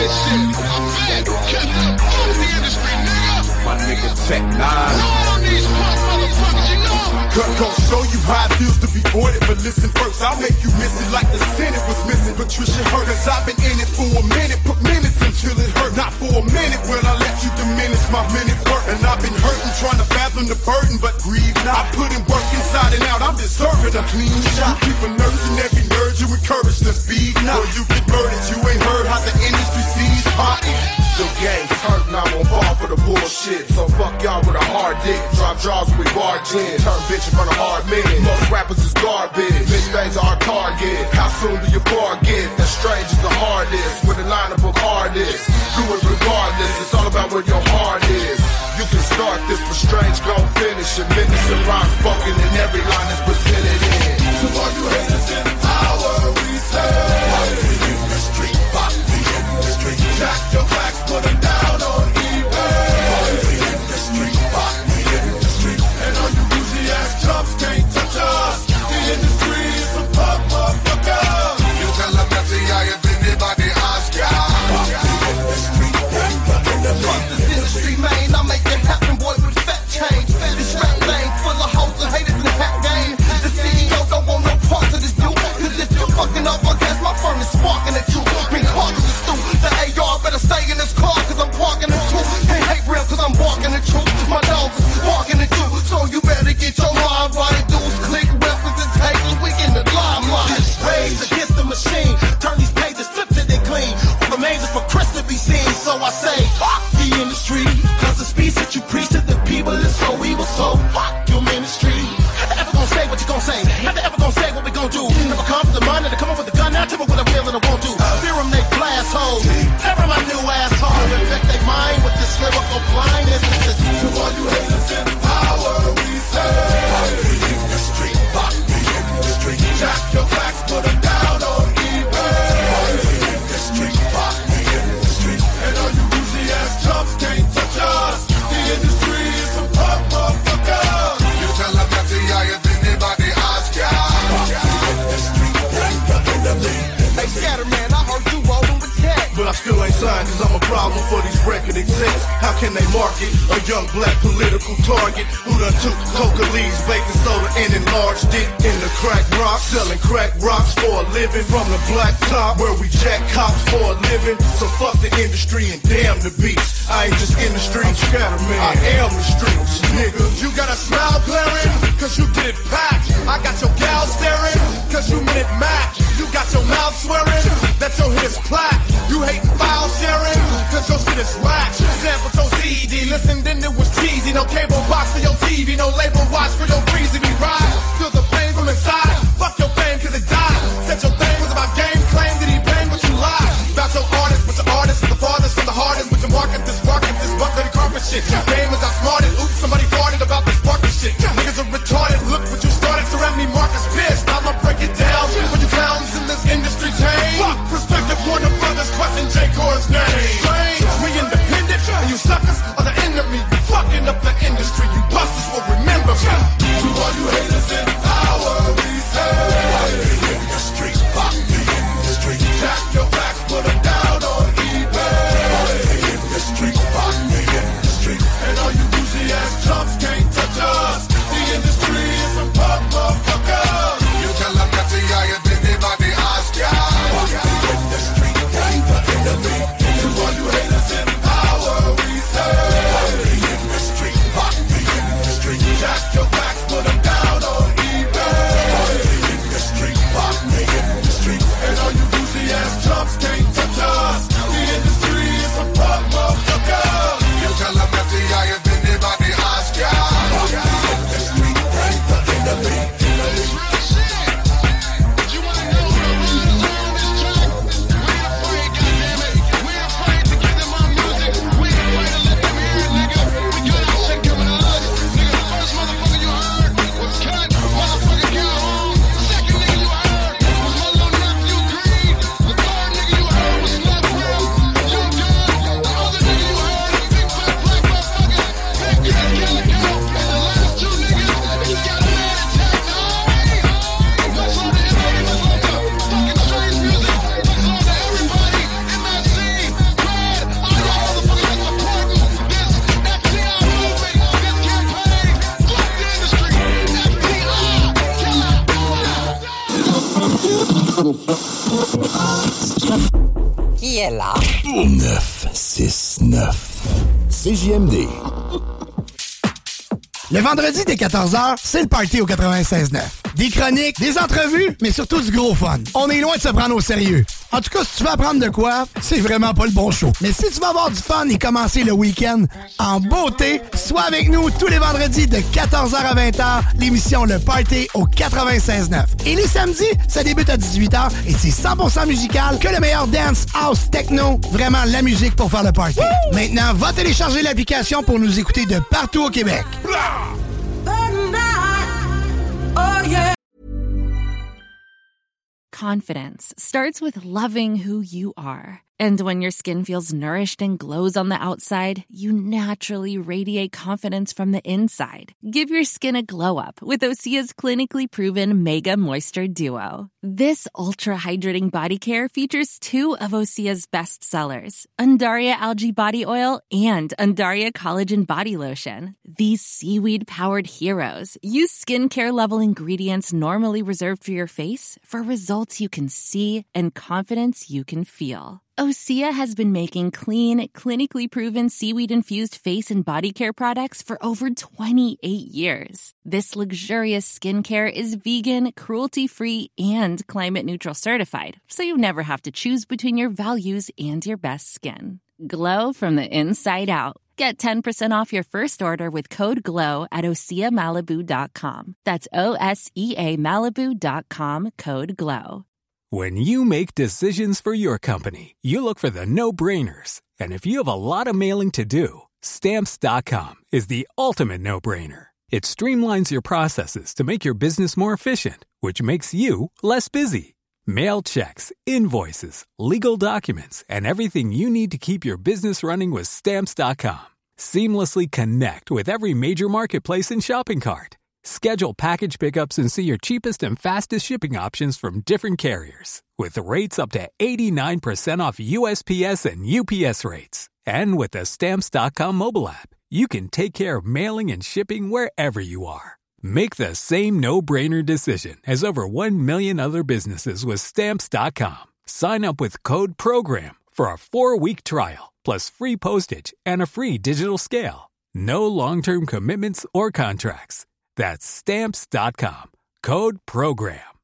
this shit. I'm bad. Cut the industry, nigga. My nigga Tech 9. On these motherfuckers, you know. Cut gon' show you how it feels to be ordered, but listen first, I'll make you miss it like the Senate was missing Patricia Hurt. Cause I've been in it for a minute, put minutes until it hurt. Not for a minute, when I let you diminish my minute worth. And I've been hurting, trying to fathom the burden, but grieve not. I put in work inside and out, I'm deserving a clean shot. You keep a nursing every nerve, you encourage the speed. Now you get murdered, you ain't heard how the industry sees pop. The game's hurt, now I won't fall for the bullshit. So fuck y'all with a hard dick. Drop jaws with bar gin. Turn bitch in front of hard men. Most rappers is garbage. Bitch bangs are our target. How soon do you forget that strange is the hardest? With a line of book hardest. Do it regardless. It's all about where your heart is. You can start this, but strange gon' finish it. Minutes and rhymes spoken and every line is presented in. To all you haters in power, we say. Pop the industry, pop the industry. Jack your backs, put them down on eBay. Pop the industry, pop the industry. And all you bougie ass chumps can't touch us. The industry is a pop motherfucker. You tell them that the eye of anybody ask ya. Pop the industry, pop the industry. This industry, man, I make it happen, boy, with fat change. This rap lane full of hoes and haters in the hat game. The CEO don't want no parts of this dude. Cause if you're fucking up, I guess my firm is sparking at you. Been hard to the stool. The AR better stay in this car cause I'm parking the truth. Can't hate real cause I'm barking the truth. My dogs is barking at you. So you better get your mind right. Dudes click representation. We in the limelight. This rage against the machine. Turn these pages, flip till they clean. Amazing for Chris to be seen. So I say, fuck the industry. Cause the speech that you preach to the people is so evil. So fuck your ministry. Ever gonna say what you gonna say? Never ever gonna say what we gonna do. Never come for the money to come up with a gun. Now tell me what I will and I won't do. Fear them, they blast holes. Never my new asshole. Infect they mind with this lyrical blindness. To all you haters in power, we say. Pop the industry, pop the industry. Jack your backs, put them down on eBay. Pop the industry, pop the industry. And all you bougie ass chumps can't touch us. The industry is a pop motherfucker. You tell them that the eye of anybody ask ya. Pop the industry, pop the industry. Hey, Scatterman, I heard you rolling with tech. But I still ain't signed cause I'm a problem for these record execs. How can they market a young black political target who done took coca leaves, baking soda and enlarged it in the crack rock, selling crack rocks for a living from the black top where we jack cops for a living. So fuck the industry and damn the beats. I ain't just in the streets, Scatterman. I am the streets, nigga. You got a smile glaring, cause you did it packed. I got your gal staring, cause you minute Mac. You got your mouth swearing, that your hit is plaque. You hating file sharing, cause your shit is whack. Sample your CD, listen then it was cheesy. No cable box for your TV, no label watch for your breezy. We ride, feel the pain from inside. Fuck your fame cause it died. Said your thing was about game, claim that he blamed but you lied. About your artist, but your artist is the farthest from the hardest. With your market, this buck dirty carpet shit. Your game is outsmarted, oops, somebody farted about this sparking shit. Niggas are retarded, look what you started. Surround me, Marcus pissed. I'ma break it down for you clowns in this industry chain. Fuck perspective, Warner Brothers, question J. Core's name. Strange, we independent, and you suckers are the enemy. You fucking up the industry, you busters will remember me. To all you haters in power, we say. Pop the industry, pop the industry. Jack your backs, put them down on eBay. Pop the industry, pop the industry. And all you bougie ass chumps can't touch us. The industry is a pop motherfucker. You tell them that the eye of anybody ask ya. Pop the industry, pop the industry. To all you qui est là. 969 CJMD. Le vendredi dès 14h, c'est le party au 96.9. Des chroniques, des entrevues, mais surtout du gros fun. On est loin de se prendre au sérieux. En tout cas, si tu veux apprendre de quoi, c'est vraiment pas le bon show. Mais si tu veux avoir du fun et commencer le week-end en beauté, sois avec nous tous les vendredis de 14h à 20h, l'émission Le Party au 96.9. Et les samedis, ça débute à 18h et c'est 100% musical que le meilleur dance, house, techno. Vraiment la musique pour faire le party. Woo! Maintenant, va télécharger l'application pour nous écouter de partout au Québec. Confidence starts with loving who you are. And when your skin feels nourished and glows on the outside, you naturally radiate confidence from the inside. Give your skin a glow up with Osea's clinically proven Mega Moisture Duo. This ultra-hydrating body care features 2 of Osea's best sellers, Undaria Algae Body Oil and Undaria Collagen Body Lotion. These seaweed-powered heroes use skincare-level ingredients normally reserved for your face for results you can see and confidence you can feel. Osea has been making clean, clinically proven seaweed-infused face and body care products for over 28 years. This luxurious skincare is vegan, cruelty-free, and climate-neutral certified, so you never have to choose between your values and your best skin. Glow from the inside out. Get 10% off your first order with code GLOW at OseaMalibu.com. That's OSEA Malibu.com, code GLOW. When you make decisions for your company, you look for the no-brainers. And if you have a lot of mailing to do, Stamps.com is the ultimate no-brainer. It streamlines your processes to make your business more efficient, which makes you less busy. Mail checks, invoices, legal documents, and everything you need to keep your business running with Stamps.com. Seamlessly connect with every major marketplace and shopping cart. Schedule package pickups and see your cheapest and fastest shipping options from different carriers. With rates up to 89% off USPS and UPS rates. And with the Stamps.com mobile app, you can take care of mailing and shipping wherever you are. Make the same no-brainer decision as over 1 million other businesses with Stamps.com. Sign up with code PROGRAM for a 4-week trial, plus free postage and a free digital scale. No long-term commitments or contracts. That's Stamps.com. Code PROGRAM.